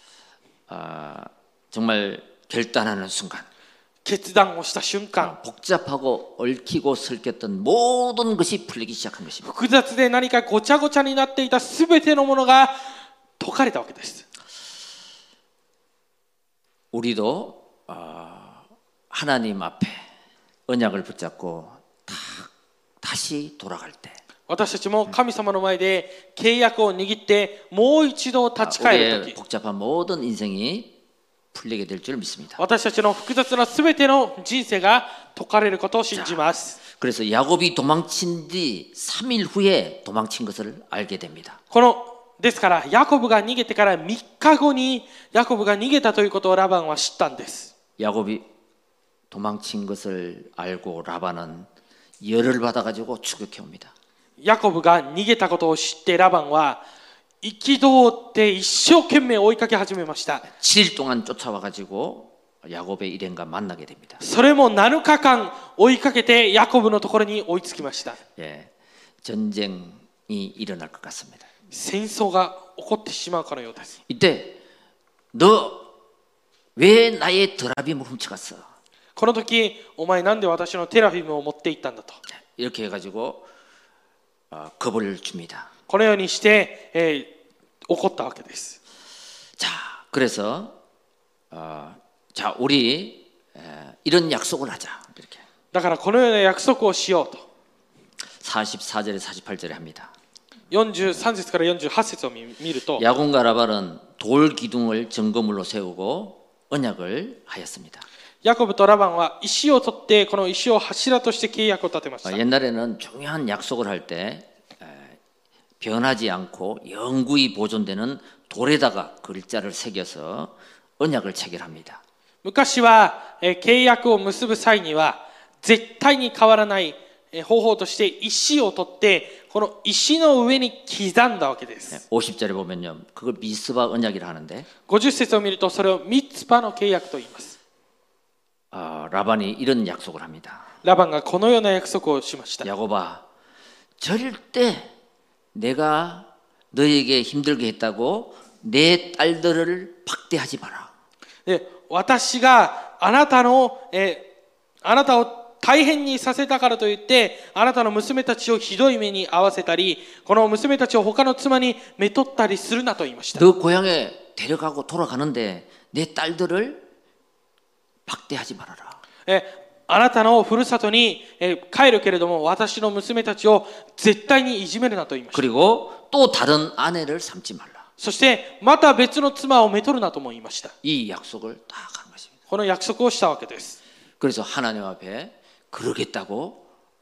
[SPEAKER 1] 정말 결단하는 순간
[SPEAKER 2] 決断をした瞬間、
[SPEAKER 1] 복잡하고 얽히고 설켰던 모든 것이 풀리기 시작한 것입니다.
[SPEAKER 2] 複雑で何かごちゃごちゃになっていたすべてのものが解かれたわけです。
[SPEAKER 1] 우리도 하나님 앞에 언약을 붙잡고 다시 돌아갈 때
[SPEAKER 2] 私たちも神様の前で契約を握ってもう一度立ち返る
[SPEAKER 1] 우리의
[SPEAKER 2] 時、
[SPEAKER 1] 복잡한 모든 인생이 풀리게 될 줄 믿습니다.
[SPEAKER 2] 私たちの複雑なすべての人生が解かれることを信じます。
[SPEAKER 1] 그래서 야곱이 도망친 뒤 3일 후에 도망친 것을 알게 됩니다.
[SPEAKER 2] ですからヤコブが逃げてから3日後にヤコブが逃げたということをラバンは知ったんです。
[SPEAKER 1] 야곱이 도망친 것을 알고 라반은 열을 받아가지고 추격해 옵니다.
[SPEAKER 2] ヤコブが逃げたことを知ってラバンは憤って一生懸命追いかけ始めました。
[SPEAKER 1] 7일 동안 쫓아와가지고 야곱의 일행과 만나게 됩니다.
[SPEAKER 2] それも7日間追いかけてヤコブのところに追いつきました。
[SPEAKER 1] 전쟁이 일어날 것 같습니다.
[SPEAKER 2] 戦争が起こってしまうかのようです。
[SPEAKER 1] 이때 너 왜 나의 드라빔을 훔쳐갔어?
[SPEAKER 2] この時お前なんで私のテラフィムを持って行ったんだと
[SPEAKER 1] 이렇게 해가지고 겁을 줍니다.
[SPEAKER 2] このようにして、怒ったわけです。
[SPEAKER 1] 자, 그래서 자 우리 이런 약속을 하자 이렇게.
[SPEAKER 2] だからこのような約束をしようと
[SPEAKER 1] 44절에 48절에 합니다.
[SPEAKER 2] 43節から48節を見ると
[SPEAKER 1] 야곱과 라반은 돌 기둥을 증거물로 세우고 언약을 하였습니다.
[SPEAKER 2] ヤコブとラバンは石を取ってこの石を柱として契約を立てました。
[SPEAKER 1] 옛날에는 중요한 약속을 할 때 변하지 않고 영구히 보존되는 돌에다가 글자를 새겨서 언약을 체결합니다.
[SPEAKER 2] 昔は契約を結ぶ際には絶対に変わらない方法として石を取ってこの石の上に刻んだわけです。
[SPEAKER 1] 50절에 보면요, 그걸 미스바 언약이라 하는데
[SPEAKER 2] 50節を見るとそれをミツパの契約と言います。
[SPEAKER 1] 라반이 이런 약속을 합니다.
[SPEAKER 2] ラバンがこのような約束をしました。
[SPEAKER 1] 야곱아, 절대 내가 너에게 힘들게 했다고 내 딸들을 박대하지 마라.
[SPEAKER 2] 私があなたを大変にさせたからといってあなたの娘たちをひどい目に遭わせたりこの娘たちを他の妻にめとったりするなと言いました。
[SPEAKER 1] 너 고향에 데려가고 돌아가는데 내 딸들을 박대하지 말아라.
[SPEAKER 2] あなたのふるさとに帰るけれども私の娘たちを絶対にいじめるなと言いました。
[SPEAKER 1] 그리고 또 다른 아내를 삼지 말라.
[SPEAKER 2] そしてまた別の妻をめとるなとも言いました。
[SPEAKER 1] 이 약속을 딱 한 것입니다.
[SPEAKER 2] この約束をしたわけです。
[SPEAKER 1] 그래서 하나님 앞에 그러겠다고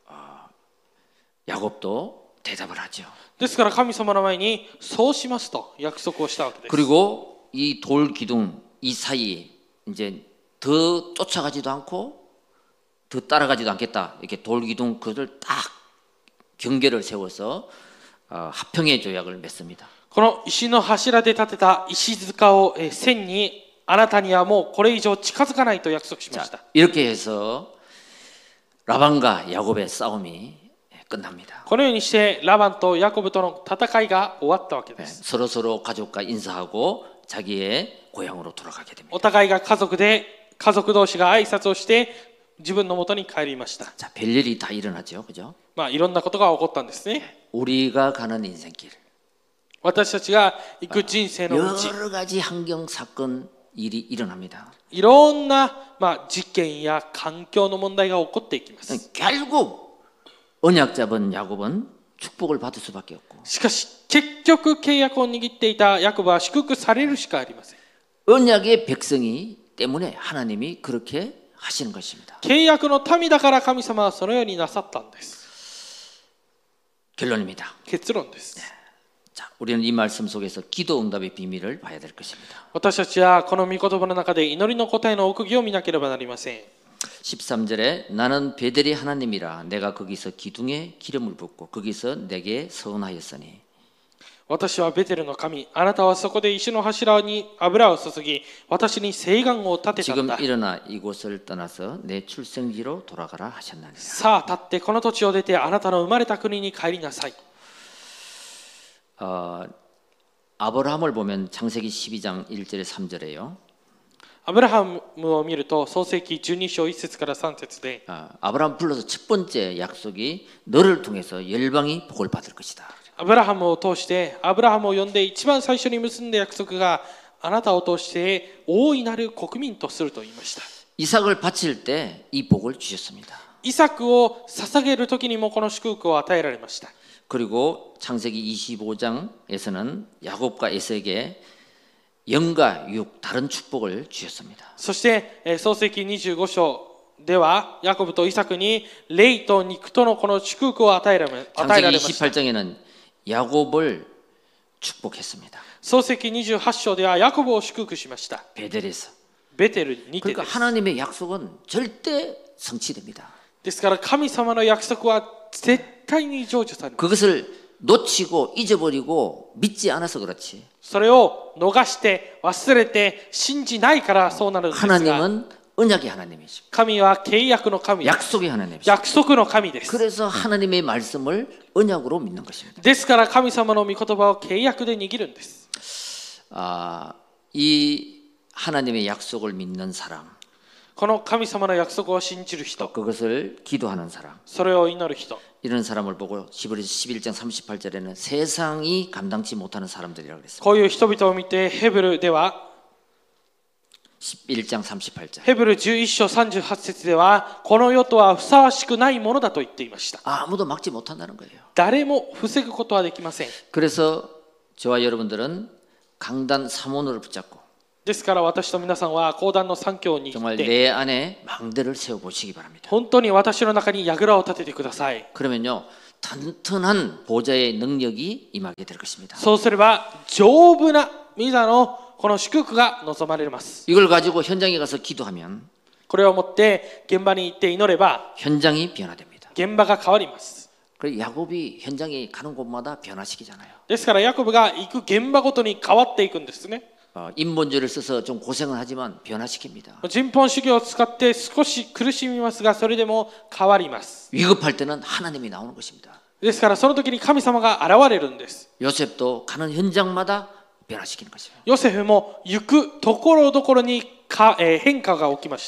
[SPEAKER 1] 야곱도 대답을 하죠.
[SPEAKER 2] ですから神様の前にそうしますと約束をしたわけです。
[SPEAKER 1] 그리고 이 돌 기둥 이 사이에 이제 더 쫓아가지도 않고 더 따라가지도 않겠다. 이렇게 돌 기둥 그를 딱 경계를 세워서 화평의 조약을 맺습니다.
[SPEAKER 2] この石の柱で建てた石塚を線にあなたにはもうこれ以上近づかないと約束しました。
[SPEAKER 1] 이렇게 해서 라반과 야곱의 싸움이 끝납니다.
[SPEAKER 2] このようにしてラバンとヤコブとの戦いが終わったわけです。
[SPEAKER 1] 서로 가족과 인사하고 자기의 고향으로 돌아가게 됩니다.
[SPEAKER 2] お互いが家族で家族同士が挨拶をして自分の元に帰りました。
[SPEAKER 1] 자, 별일이 다 일어나죠, 그죠?
[SPEAKER 2] いろんなことが起こったんですね。
[SPEAKER 1] 우리가 가는 인생길.
[SPEAKER 2] 私たちが行く人生の道、
[SPEAKER 1] 여러 가지 환경 사건 일이 일어납니다.
[SPEAKER 2] いろんな事件や環境の問題が起こっていきます。
[SPEAKER 1] 결국 언약 잡은 야곱은 축복을 받을 수밖에 없고
[SPEAKER 2] しかし結局契約を握っていたヤコブは祝福されるしかありません。
[SPEAKER 1] 언약의 백성이 때문에 하나님이 그렇게 하시는 것입니다.
[SPEAKER 2] 契約の民だから神様はそのようになさったんです。
[SPEAKER 1] 결론입니다.
[SPEAKER 2] 結論です。
[SPEAKER 1] 자, 우리는 이 말씀 속에서 기도 응답의 비밀을 봐야 될 것입니다.
[SPEAKER 2] 私たちはこの御言葉の中で祈りの答えの奥義を見なければなりません。
[SPEAKER 1] 13절에 나는 베델이 하나님이라 내가 거기서 기둥에 기름을 붓고 거기서 내게 서원하였으니
[SPEAKER 2] 私はベテルの神、あなたはそこで石の柱に油を注ぎ、私に誓願を立てたん
[SPEAKER 1] 지금
[SPEAKER 2] だ。
[SPEAKER 1] 일어나 이곳을 떠나서 내 출생지로 돌아가라 하셨나니라.
[SPEAKER 2] さあ立ってこの土地を出てあなたの生まれた国に帰りなさい。
[SPEAKER 1] 아브라함을 보면 창세기 12장 1절에 3절에요.
[SPEAKER 2] アブラハムを見ると創世記12章1節から3節で
[SPEAKER 1] 아브라함 불러서 첫 번째 약속이 너를 통해서 열방이 복을 받을 것이다.
[SPEAKER 2] アブラハムを通してアブラハムを呼んで一番最初に結んだ約束があなたを通して大いなる国民とすると言いました。
[SPEAKER 1] 이삭을 바칠 때 이 복을 주셨습니다.
[SPEAKER 2] イサクを捧げる時にもこの祝福を与えられました。
[SPEAKER 1] 그리고 창세기 25장에서는 야곱과 에서에게 영과 육 다른 축복을 주셨습니다.
[SPEAKER 2] そして創世記25章ではヤコブとイサクに霊と肉とのこの祝福を与えられました。
[SPEAKER 1] 28장에는 야곱을 축복했습니다.
[SPEAKER 2] 創世記28章ではヤコブを祝福しました。
[SPEAKER 1] 베델에서.
[SPEAKER 2] ベテルにて
[SPEAKER 1] 그러니까
[SPEAKER 2] です。
[SPEAKER 1] 하나님의 약속은 절대 성취됩니다.
[SPEAKER 2] ですから神様の約束は絶対に成就されます。
[SPEAKER 1] 그것을 놓치고 잊어버리고 믿지 않아서 그렇지.
[SPEAKER 2] それを逃して忘れて信じないからそうなるんですが、
[SPEAKER 1] 하나님은 언약의 하나님이십니다.
[SPEAKER 2] 神は契約の神です。
[SPEAKER 1] 약속의 하나님이십니다.
[SPEAKER 2] 約束の神です。
[SPEAKER 1] 그래서 하나님의 말씀을 언약으로 믿는 것입니다.
[SPEAKER 2] ですから神様の御言葉を契約で握るんです。
[SPEAKER 1] 이 하나님의 약속을 믿는 사람,
[SPEAKER 2] この神様の約束を信じる人、
[SPEAKER 1] 그것을 기도하는 사람,
[SPEAKER 2] それを祈る人、
[SPEAKER 1] 이런 사람을 보고 히브리서 11장 38절에는 세상이 감당치 못하는 사람들이라고 그랬습니다.
[SPEAKER 2] こういう人々を見てヘブルでは
[SPEAKER 1] 11장 38절.
[SPEAKER 2] ヘブル11章38節ではこの世とはふさわしくないものだと言っていました。
[SPEAKER 1] 아무도 막지 못한다는 거예요.
[SPEAKER 2] 誰も防ぐことはできません。
[SPEAKER 1] 그래서 저와 여러분들은 강단 3원을 붙잡고
[SPEAKER 2] ですから私と皆さんは講談の3教を握
[SPEAKER 1] 정말
[SPEAKER 2] って
[SPEAKER 1] 내 안에 망대를 세워 보시기 바랍니다.
[SPEAKER 2] 本当に私の中に櫓を立ててください。
[SPEAKER 1] 그러면요 튼튼한 보좌의 능력이 임하게 될 것입니다.
[SPEAKER 2] そうすれば丈夫な御座のこの祝福が望まれます。
[SPEAKER 1] 이걸 가지고 현장에 가서 기도하면
[SPEAKER 2] これをもって現場に行って祈れば
[SPEAKER 1] 현장이 변화됩니다.
[SPEAKER 2] 現場が変わります。
[SPEAKER 1] 그래서 야곱이 현장에 가는 곳마다 변화시키잖아요.
[SPEAKER 2] ですからヤコブが行く現場ごとに変わっていくんですね。
[SPEAKER 1] 인본주의를 써서 좀 고생은 하지만 변화시킵니다.
[SPEAKER 2] 人本主義を使って少し苦しみますがそれでも変わります。
[SPEAKER 1] 위급할 때는 하나님이 나오는 것입니다.
[SPEAKER 2] ですからその時に神様が現れるんです。
[SPEAKER 1] 요셉도 가는 현장마다 변화시키는 것이에요.
[SPEAKER 2] ヨセフも行くところどころに変化が起きました。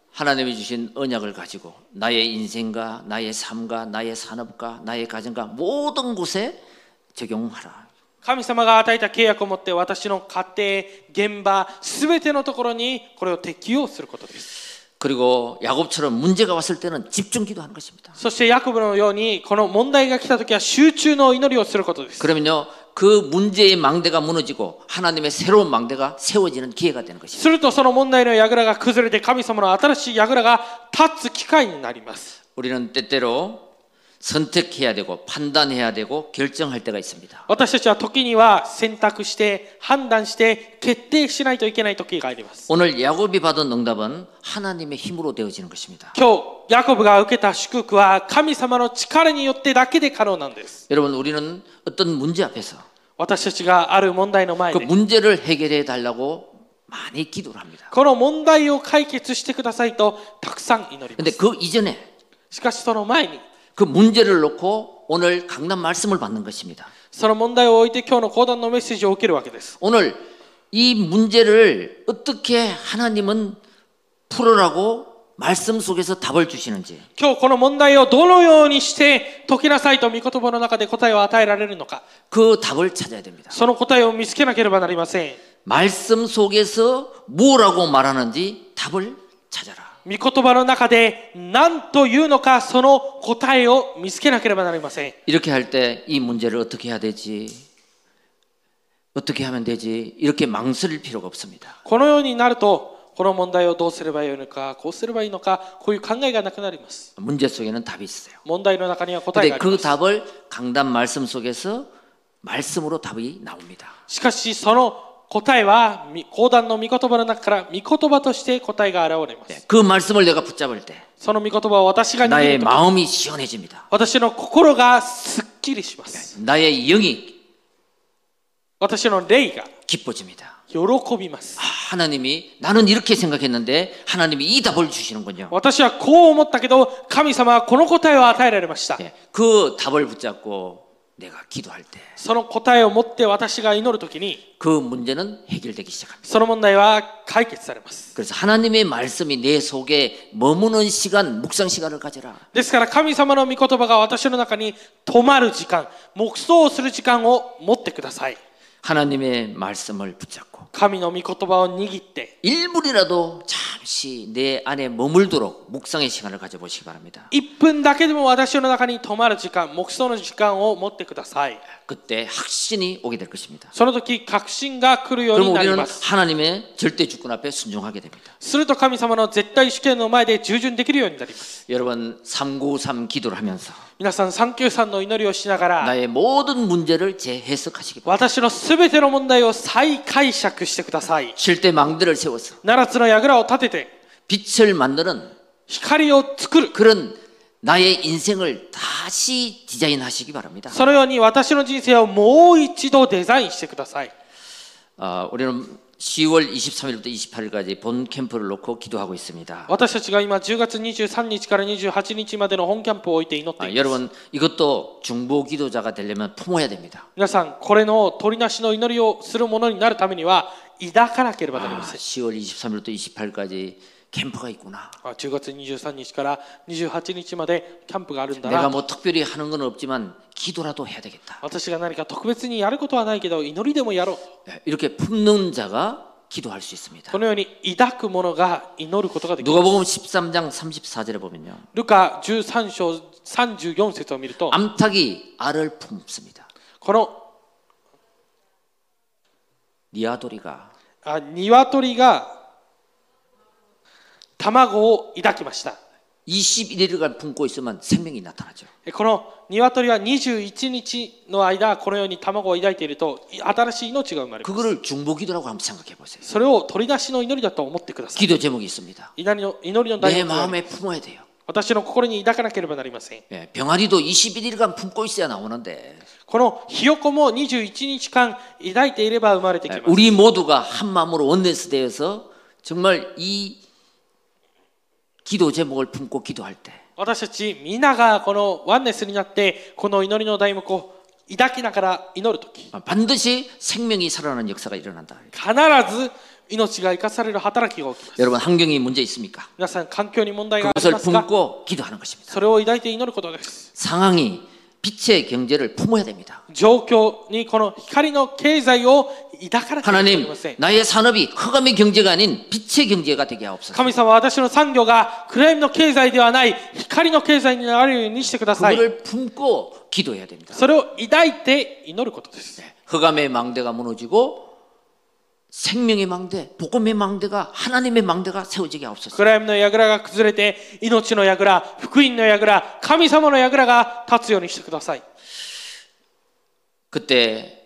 [SPEAKER 1] 하나님이 주신 언약을 가지고 나의 인생과 나의 삶과 나의 산업과 나의 가정과 모든 곳에 적용하라.
[SPEAKER 2] 神様が与えた契約を持って私の家庭、現場、すべてのところにこれを適用することです。
[SPEAKER 1] 그리고 야곱처럼 문제가 왔을 때는 집중 기도하는 것입니다.
[SPEAKER 2] そしてヤコブのようにこの問題が来たときは集中の祈りをすることです。
[SPEAKER 1] 그러면요 그 문제의 망대가 무너지고 하나님의 새로운 망대가 세워지는 기회가 되는 것입니다.
[SPEAKER 2] するとその問題の櫓が崩れて神様の新しい櫓が立つ機会になります。
[SPEAKER 1] 우리는 때때로 선택해야 되고 판단해야 되고 결정할 때가 있습니다.
[SPEAKER 2] 私たちは時には選択して判断して決定しないといけない時があります。
[SPEAKER 1] 오늘 야곱이 받은 응답은 하나님의 힘으로 되어지는 것입니다.
[SPEAKER 2] 今日ヤコブが受けた祝福は神様の力によってだけで可能なんです。
[SPEAKER 1] 여러분 우리는 어떤 문제 앞에서
[SPEAKER 2] 私たちがある問題の前
[SPEAKER 1] 그
[SPEAKER 2] で
[SPEAKER 1] 문제를 해결해 달라고 많이 기도를 합니다.
[SPEAKER 2] この問題を解決してくださいとたくさん祈りま
[SPEAKER 1] 근데
[SPEAKER 2] す。
[SPEAKER 1] 그 이전에
[SPEAKER 2] しかしその前に
[SPEAKER 1] 그 문제를 놓고 오늘 강단 말씀을 받는 것입니다.
[SPEAKER 2] その問題を置いて今日の講談のメッセージを受けるわけです。
[SPEAKER 1] 오늘 이 문제를 어떻게 하나님은 풀어라고 말씀 속에서 답을 주시는지
[SPEAKER 2] 今日この問題をどのようにして解きなさいと御言葉の中で答えを与えられるのか
[SPEAKER 1] 그 답을 찾아야 됩니다.
[SPEAKER 2] その答えを見つけなければなりません。
[SPEAKER 1] 말씀 속에서 뭐라고 말하는지 답을 찾아라.
[SPEAKER 2] 御言葉の中で何というのかその答えを見つけなければなりません。
[SPEAKER 1] 이렇게 할 때 이 문제를 어떻게 해야 되지? 어떻게 하면 되지? 이렇게 망설일 필요가 없습니다.
[SPEAKER 2] このようになるとこの問題をどうすればいいのかこうすればいいのかこういう考えがなくなります。
[SPEAKER 1] 문제 속에는 답이 있어요.
[SPEAKER 2] 問題の中には答え
[SPEAKER 1] 근데
[SPEAKER 2] があり
[SPEAKER 1] 그
[SPEAKER 2] ます。
[SPEAKER 1] 답을 강단 말씀 속에서 말씀으로 답이 나옵니다.
[SPEAKER 2] しかしその答えは講談の御言葉の中から御言葉として答えが現れます。
[SPEAKER 1] 그 말씀을 내가 붙잡을 때
[SPEAKER 2] その御言葉を私が握
[SPEAKER 1] 나의
[SPEAKER 2] るとき
[SPEAKER 1] 마음이 시원해집니다.
[SPEAKER 2] 私の心がすっきりします。
[SPEAKER 1] 나의 영이
[SPEAKER 2] 私の霊が
[SPEAKER 1] 기뻐집니다.
[SPEAKER 2] 喜びます。
[SPEAKER 1] 하나님이 나는 이렇게 생각했는데 하나님이 이 답을 주시는군요.
[SPEAKER 2] 私はこう思ったけど神様はこの答えを与えられました。
[SPEAKER 1] 그 답을 붙잡고 내가 기도할 때
[SPEAKER 2] その答えを持って私が祈るときに
[SPEAKER 1] 그 문제는 해결되기 시작합니다.
[SPEAKER 2] その問題は解決されます。
[SPEAKER 1] 그래서 하나님의 말씀이 내 속에 머무는 시간, 묵상 시간을 가져라.
[SPEAKER 2] ですから神様の御言葉が私の中に止まる時間、黙想をする時間を持ってください。
[SPEAKER 1] 하나님의 말씀을 붙잡고
[SPEAKER 2] 神の御言葉を握って
[SPEAKER 1] 1분이라도 잠시 내 안에 머물도록 묵상의 시간을 가져보시기 바랍니다.
[SPEAKER 2] 1分だけでも私の中に止まる時間、黙想の時間を持ってください。
[SPEAKER 1] 그때 확신이 오게 될 것입니다.
[SPEAKER 2] その時確信が来るように
[SPEAKER 1] 그럼
[SPEAKER 2] なり
[SPEAKER 1] 우리는
[SPEAKER 2] ます。
[SPEAKER 1] 하나님의 절대 주권 앞에 순종하게 됩니다.
[SPEAKER 2] すると神様の絶対主権の前で従順できるようになります。
[SPEAKER 1] 여러분 393 기도를 하면서
[SPEAKER 2] 皆さん393の祈りをしながら
[SPEAKER 1] 나의 모든 문제를 재해석하시기 바랍니다.
[SPEAKER 2] 私のすべての問題を再解釈してください。
[SPEAKER 1] 쉴 때 망대를 세워서
[SPEAKER 2] 7つの櫓を立てて
[SPEAKER 1] 빛을 만드는
[SPEAKER 2] 光を作る。
[SPEAKER 1] 그런 나의 인생을 다시 디자인하시기 바랍니다.
[SPEAKER 2] そのように私の人生をもう一度デザインしてください。
[SPEAKER 1] 우리는 10월 23일부터 28일까지 본 캠프를 놓고 기도하고 있습니다.
[SPEAKER 2] 私たちが今10月23日から28日までの本キャンプを置いて祈っています。
[SPEAKER 1] 여러분 이것도 중보 기도자가 되려면 품어야 됩니다.
[SPEAKER 2] 皆さんこれの取りなしの祈りをするものになるためには抱かなければなりません。
[SPEAKER 1] 10월 23일부터 28일까지 캠프가 있구나.
[SPEAKER 2] 10月23日から28日までキャンプがあるんだ
[SPEAKER 1] 내가
[SPEAKER 2] な。
[SPEAKER 1] 뭐 특별히 하는 건 없지만 기도라도 해야 되겠다.
[SPEAKER 2] 私が何か特別にやることはないけど祈りでもやろう。
[SPEAKER 1] 이렇게 품는 자가 기도할 수 있습니다.
[SPEAKER 2] このように抱く者が祈ることができます。
[SPEAKER 1] 누가복음 13장 34절에 보면요.
[SPEAKER 2] ルカ13章34節を見ると
[SPEAKER 1] 암탉이 알을 품습니다.
[SPEAKER 2] この
[SPEAKER 1] 니아도리가
[SPEAKER 2] 鶏が卵を抱きました。
[SPEAKER 1] 21일간 품고 있으면 생명이 나타나죠.
[SPEAKER 2] この鶏は21日の間このように卵を抱いていると新しい命が生まれます。
[SPEAKER 1] 그거를 중보기도라고 한번 생각해 보세요.
[SPEAKER 2] それを取り出しの祈りだと思ってください。
[SPEAKER 1] 기도 제목이 있습니다.
[SPEAKER 2] 祈りの題
[SPEAKER 1] 내
[SPEAKER 2] 目があり
[SPEAKER 1] 마음에 품어야 돼요.
[SPEAKER 2] 私の心に抱かなければなりません。
[SPEAKER 1] 병아리도 21일간 품고 있어야 나오는데
[SPEAKER 2] このひよこも21日間抱いていれば生まれてきます。
[SPEAKER 1] 우리 모두가 한 마음으로 원네스 되어서 정말 이 기도 제목을 품고 기도할 때
[SPEAKER 2] 私たち皆がこのワンネスになってこの祈りの題目を抱きながら祈るとき
[SPEAKER 1] 반드시 생명이 살아나는 역사가 일어난다.
[SPEAKER 2] 必ず命が生かされる働きが起きます。
[SPEAKER 1] 여러분 환경이 문제 있습니까?
[SPEAKER 2] 皆さん環境に問題があり
[SPEAKER 1] 그것을
[SPEAKER 2] ますが
[SPEAKER 1] 품고 기도하는 것입니다.
[SPEAKER 2] それを抱いて祈ることです。
[SPEAKER 1] 상황이 빛의 경제를 품어야 됩니다.
[SPEAKER 2] 状況にこの光の経済を抱かなければいけ
[SPEAKER 1] 하나님
[SPEAKER 2] ません。
[SPEAKER 1] 나의 산업이 흑암의 경제가 아닌 빛의 경제가 되게 하옵소서.
[SPEAKER 2] 神様は私の産業が暗闇の経済ではない光の経済になるようにしてください。
[SPEAKER 1] 그거를 품고 기도해야 됩니다.
[SPEAKER 2] それを抱いて祈ることです。
[SPEAKER 1] 흑암의 망대가 무너지고 생명의 망대, 복음의 망대가 하나님의 망대가 세워지게 하옵소서.
[SPEAKER 2] 暗闇の櫓が崩れて命の櫓、福音の櫓、神様の櫓が立つようにしてください。
[SPEAKER 1] 그때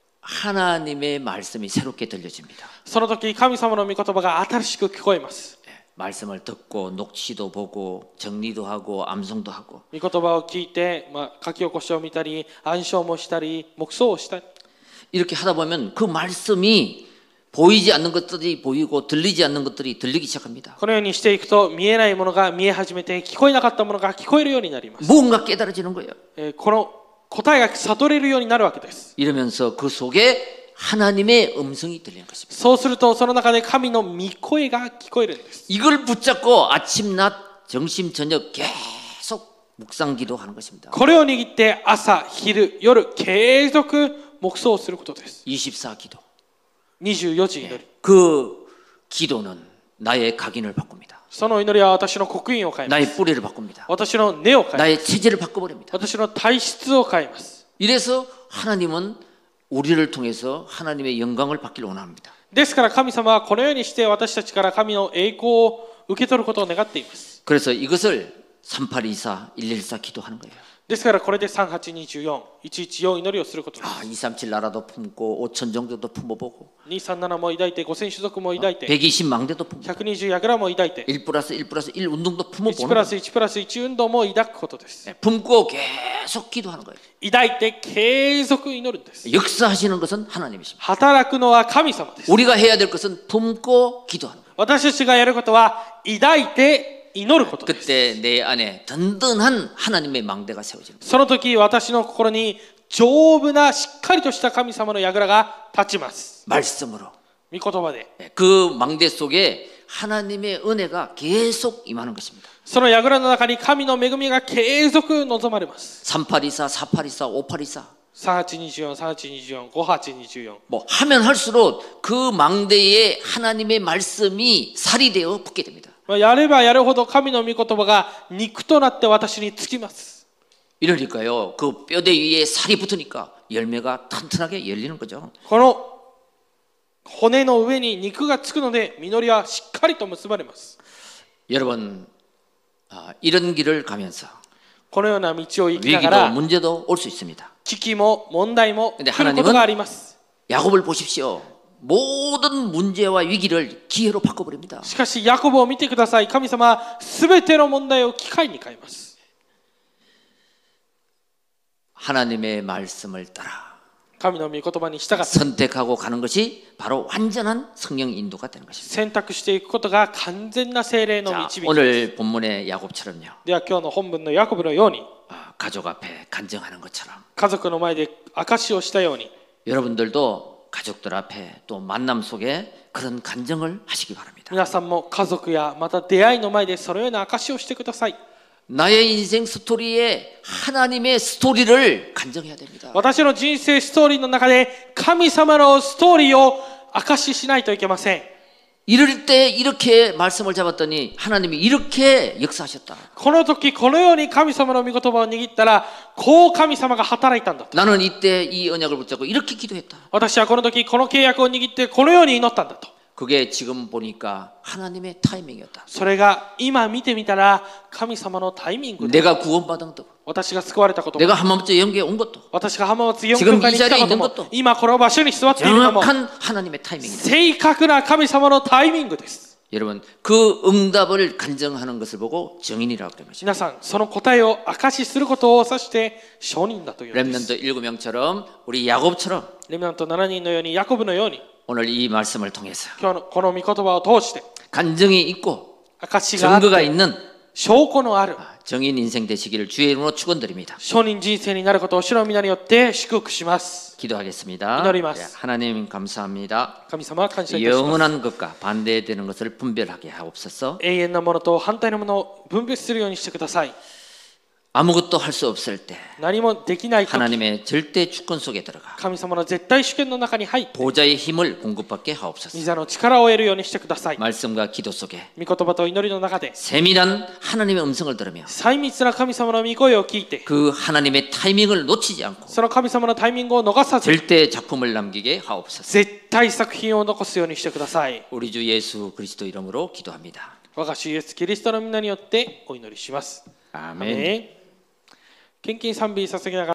[SPEAKER 1] 하나님의 말씀이 새롭게 들려집니다.
[SPEAKER 2] その時神様の御言葉が新しく聞こえます。
[SPEAKER 1] 말씀을 듣고 녹취도 보고 정리도 하고 암송도 하고
[SPEAKER 2] 御言葉を聞いて、書き起こしを見たり暗唱もしたり黙想をしたり
[SPEAKER 1] 이렇게 하다 보면 그 말씀이 보이지 않는 것들이 보이고 들리지 않는 것들이 들리기 시작합니다.
[SPEAKER 2] このようにしていくと見えないものが見え始めて聞こえなかったものが聞こえるようになります。
[SPEAKER 1] 뭔가 깨달아지는 거예요.
[SPEAKER 2] この答えが悟れるようになるわけです。
[SPEAKER 1] 이러면서 그 속에 하나님의 음성이 들리는 것입니다.
[SPEAKER 2] そうするとその中で神の御声が聞こえるんです。
[SPEAKER 1] 이걸 붙잡고 아침, 낮, 점심, 저녁 계속 묵상 기도하는 것입니다.
[SPEAKER 2] これを握って朝、昼、夜継続黙想をすることです。
[SPEAKER 1] 24 기도.
[SPEAKER 2] 24時祈り。
[SPEAKER 1] 그 기도는 나의 각인을 바꿉니다.
[SPEAKER 2] その祈りは私の刻印を変えます。
[SPEAKER 1] 나의 뿌리를 바꿉니다.
[SPEAKER 2] 私の根を変えます。
[SPEAKER 1] 나의 체질을 바꿔버립니다.
[SPEAKER 2] 私の体質を変えます。
[SPEAKER 1] 이래서 하나님은 우리를 통해서 하나님의 영광을 받기를 원합니다.
[SPEAKER 2] ですから神様はこのようにして私たちから神の栄光を受け取ることを願っています。
[SPEAKER 1] 그래서 이것을 3824, 114 기도하는 거예요.
[SPEAKER 2] ですからこれで3824、114祈りをすることです。
[SPEAKER 1] 237 나라도 품고 5천 정도도 품어보고
[SPEAKER 2] 237も抱いて、5000種族も抱いて、
[SPEAKER 1] 120 망대도 품고
[SPEAKER 2] 120櫓も抱いて、
[SPEAKER 1] 1 플러스 1 플러스 1 운동도
[SPEAKER 2] 1
[SPEAKER 1] 품어보는
[SPEAKER 2] プラ
[SPEAKER 1] 거예요.
[SPEAKER 2] ス1プラス1運動も抱くことです。
[SPEAKER 1] 품고 계속 기도하는 거예요.
[SPEAKER 2] 抱いて継続祈るんです。
[SPEAKER 1] 역사하시는 것은 하나님이십니다.
[SPEAKER 2] 働くのは神様です。
[SPEAKER 1] 우리가 해야 될 것은 품고 기도하는 거예요.
[SPEAKER 2] 私たちがやることは抱いて祈ることです。
[SPEAKER 1] 그때 내 안에 든든한 하나님의 망대가 세워집니다.
[SPEAKER 2] その時私の心に丈夫なしっかりとした神様の櫓が立ちます。
[SPEAKER 1] 말씀으로.
[SPEAKER 2] 御言葉で。
[SPEAKER 1] 그 망대 속에 하나님의 은혜가 계속 임하는 것입니다.
[SPEAKER 2] その櫓の中に神の恵みが継続望まれます。
[SPEAKER 1] 3824, 4824, 5824.
[SPEAKER 2] 3824、3824、5824。
[SPEAKER 1] 뭐 하면 할수록 그 망대에 하나님의 말씀이 살이 되어 붙게 됩니다.
[SPEAKER 2] やればやるほど神の御言葉が肉となって私につきます。
[SPEAKER 1] 이러니까요. 그 뼈대 위에 살이 붙으니까 열매가 튼튼하게 열리는 거죠.
[SPEAKER 2] この骨の上に肉がつくので実りはしっかりと結ばれます。
[SPEAKER 1] 여러분 이런 길을 가면서
[SPEAKER 2] このような道を行きなが
[SPEAKER 1] 위기도
[SPEAKER 2] ら
[SPEAKER 1] 문제도 올 수 있습니다.
[SPEAKER 2] 危機も問題も
[SPEAKER 1] 근데
[SPEAKER 2] 来ることがあります。
[SPEAKER 1] 야곱을 보십시오. 모든 문제와 위기를 기회로 바꿔버립니다.
[SPEAKER 2] しかしヤコブを見てください。神様はすべての問題を機会に変えます。
[SPEAKER 1] 하나님의 말씀을 따라
[SPEAKER 2] 神の御言葉に従って
[SPEAKER 1] 선택하고 가는 것이 바로 완전한 성령 인도가 되는 것입니다.
[SPEAKER 2] 選択していくことが完全な聖霊の
[SPEAKER 1] 자,
[SPEAKER 2] 導きです。
[SPEAKER 1] 오늘 본문의 야곱처럼요.
[SPEAKER 2] では今日の本文のヤコブのように
[SPEAKER 1] 가족 앞에 간증하는 것처럼
[SPEAKER 2] 家族の前で証しをしたように
[SPEAKER 1] 여러분들도 가족들 앞에 또 만남 속에 그런 간증을 하시기 바랍니다.
[SPEAKER 2] 皆さんも家族やまた出会いの前でそのような証しをしてください。
[SPEAKER 1] 나의 인생 스토리에 하나님의 스토리를 간증해야 됩니다.
[SPEAKER 2] 私の人生ストーリーの中で神様のストーリーを証ししないといけません。
[SPEAKER 1] 이럴 때 이렇게 말씀을 잡았더니 하나님이 이렇게 역사하셨다.
[SPEAKER 2] この時このように神様の御言葉を握ったらこう神様が働いたんだと。
[SPEAKER 1] 나는 이때 이 언약을 붙잡고 이렇게 기도했다.
[SPEAKER 2] 私はこの時この契約を握ってこのように祈ったんだと。
[SPEAKER 1] 그게 지금 보니까 하나님의 타이밍이었다.
[SPEAKER 2] それが今見てみたら神様のタイミングで
[SPEAKER 1] 내가 구원받은 것도
[SPEAKER 2] 私が救われたことも
[SPEAKER 1] 내가 한마음째 영계에 온 것도
[SPEAKER 2] 私が浜松4教会に来たことも今この場所に座っているのも
[SPEAKER 1] 정확한 하나님의 타이밍이다.
[SPEAKER 2] 正確な神様のタイミングです。
[SPEAKER 1] 여러분 그 응답을 간증하는 것을 보고 증인이라고 그런 것입니다.
[SPEAKER 2] 皆さんその答えを証しすることを指して証人だというのです。
[SPEAKER 1] 렘넌트 7명처럼 우리 야곱처럼
[SPEAKER 2] レミナント7人のようにヤコブのように
[SPEAKER 1] 오늘 이 말씀을 통해서
[SPEAKER 2] 今日のこの御言葉を通して
[SPEAKER 1] 간증이 있고
[SPEAKER 2] 証しがあっ
[SPEAKER 1] 증거가
[SPEAKER 2] て
[SPEAKER 1] 있는
[SPEAKER 2] 証拠のある
[SPEAKER 1] 정인 인생 되시기를 주의 이름으로 축원드립니다.
[SPEAKER 2] 証人人生になることを主の皆によって祝福します。
[SPEAKER 1] 기도하겠습니다.
[SPEAKER 2] 기도드리ます.
[SPEAKER 1] 하나님 감사합니다.
[SPEAKER 2] 神様は感謝いたします。
[SPEAKER 1] 영원한 것과 반대되는 것을 분별하게 하옵소서.
[SPEAKER 2] 永遠なものと反対のものを分別するようにしてください。
[SPEAKER 1] 아무것도 할 수 없을 때
[SPEAKER 2] 何もできないとき、
[SPEAKER 1] 하나님의 절대 주권 속에 들어가
[SPEAKER 2] 神様の絶対主権の中に入って、
[SPEAKER 1] 보좌의 힘을 공급받게 하옵소서.
[SPEAKER 2] 御座の力を得るようにしてください。
[SPEAKER 1] 말씀과 기도 속에
[SPEAKER 2] 御言葉と祈りの中で、
[SPEAKER 1] 세밀한 하나님의 음성을 들으며
[SPEAKER 2] 細密な神様の御声を聞いて、
[SPEAKER 1] 그 하나님의 타이밍을 놓치지 않고
[SPEAKER 2] その神様のタイミングを逃さず、
[SPEAKER 1] 절대 작품을 남기게 하옵소서.
[SPEAKER 2] 絶対作品を残すようにしてください。
[SPEAKER 1] 우리 주 예수 그리스도 이름으로 기도합니다.
[SPEAKER 2] 我が主イエスキリストの皆によってお祈りします。アー
[SPEAKER 1] 아멘.
[SPEAKER 2] メン。献金賛美捧げながら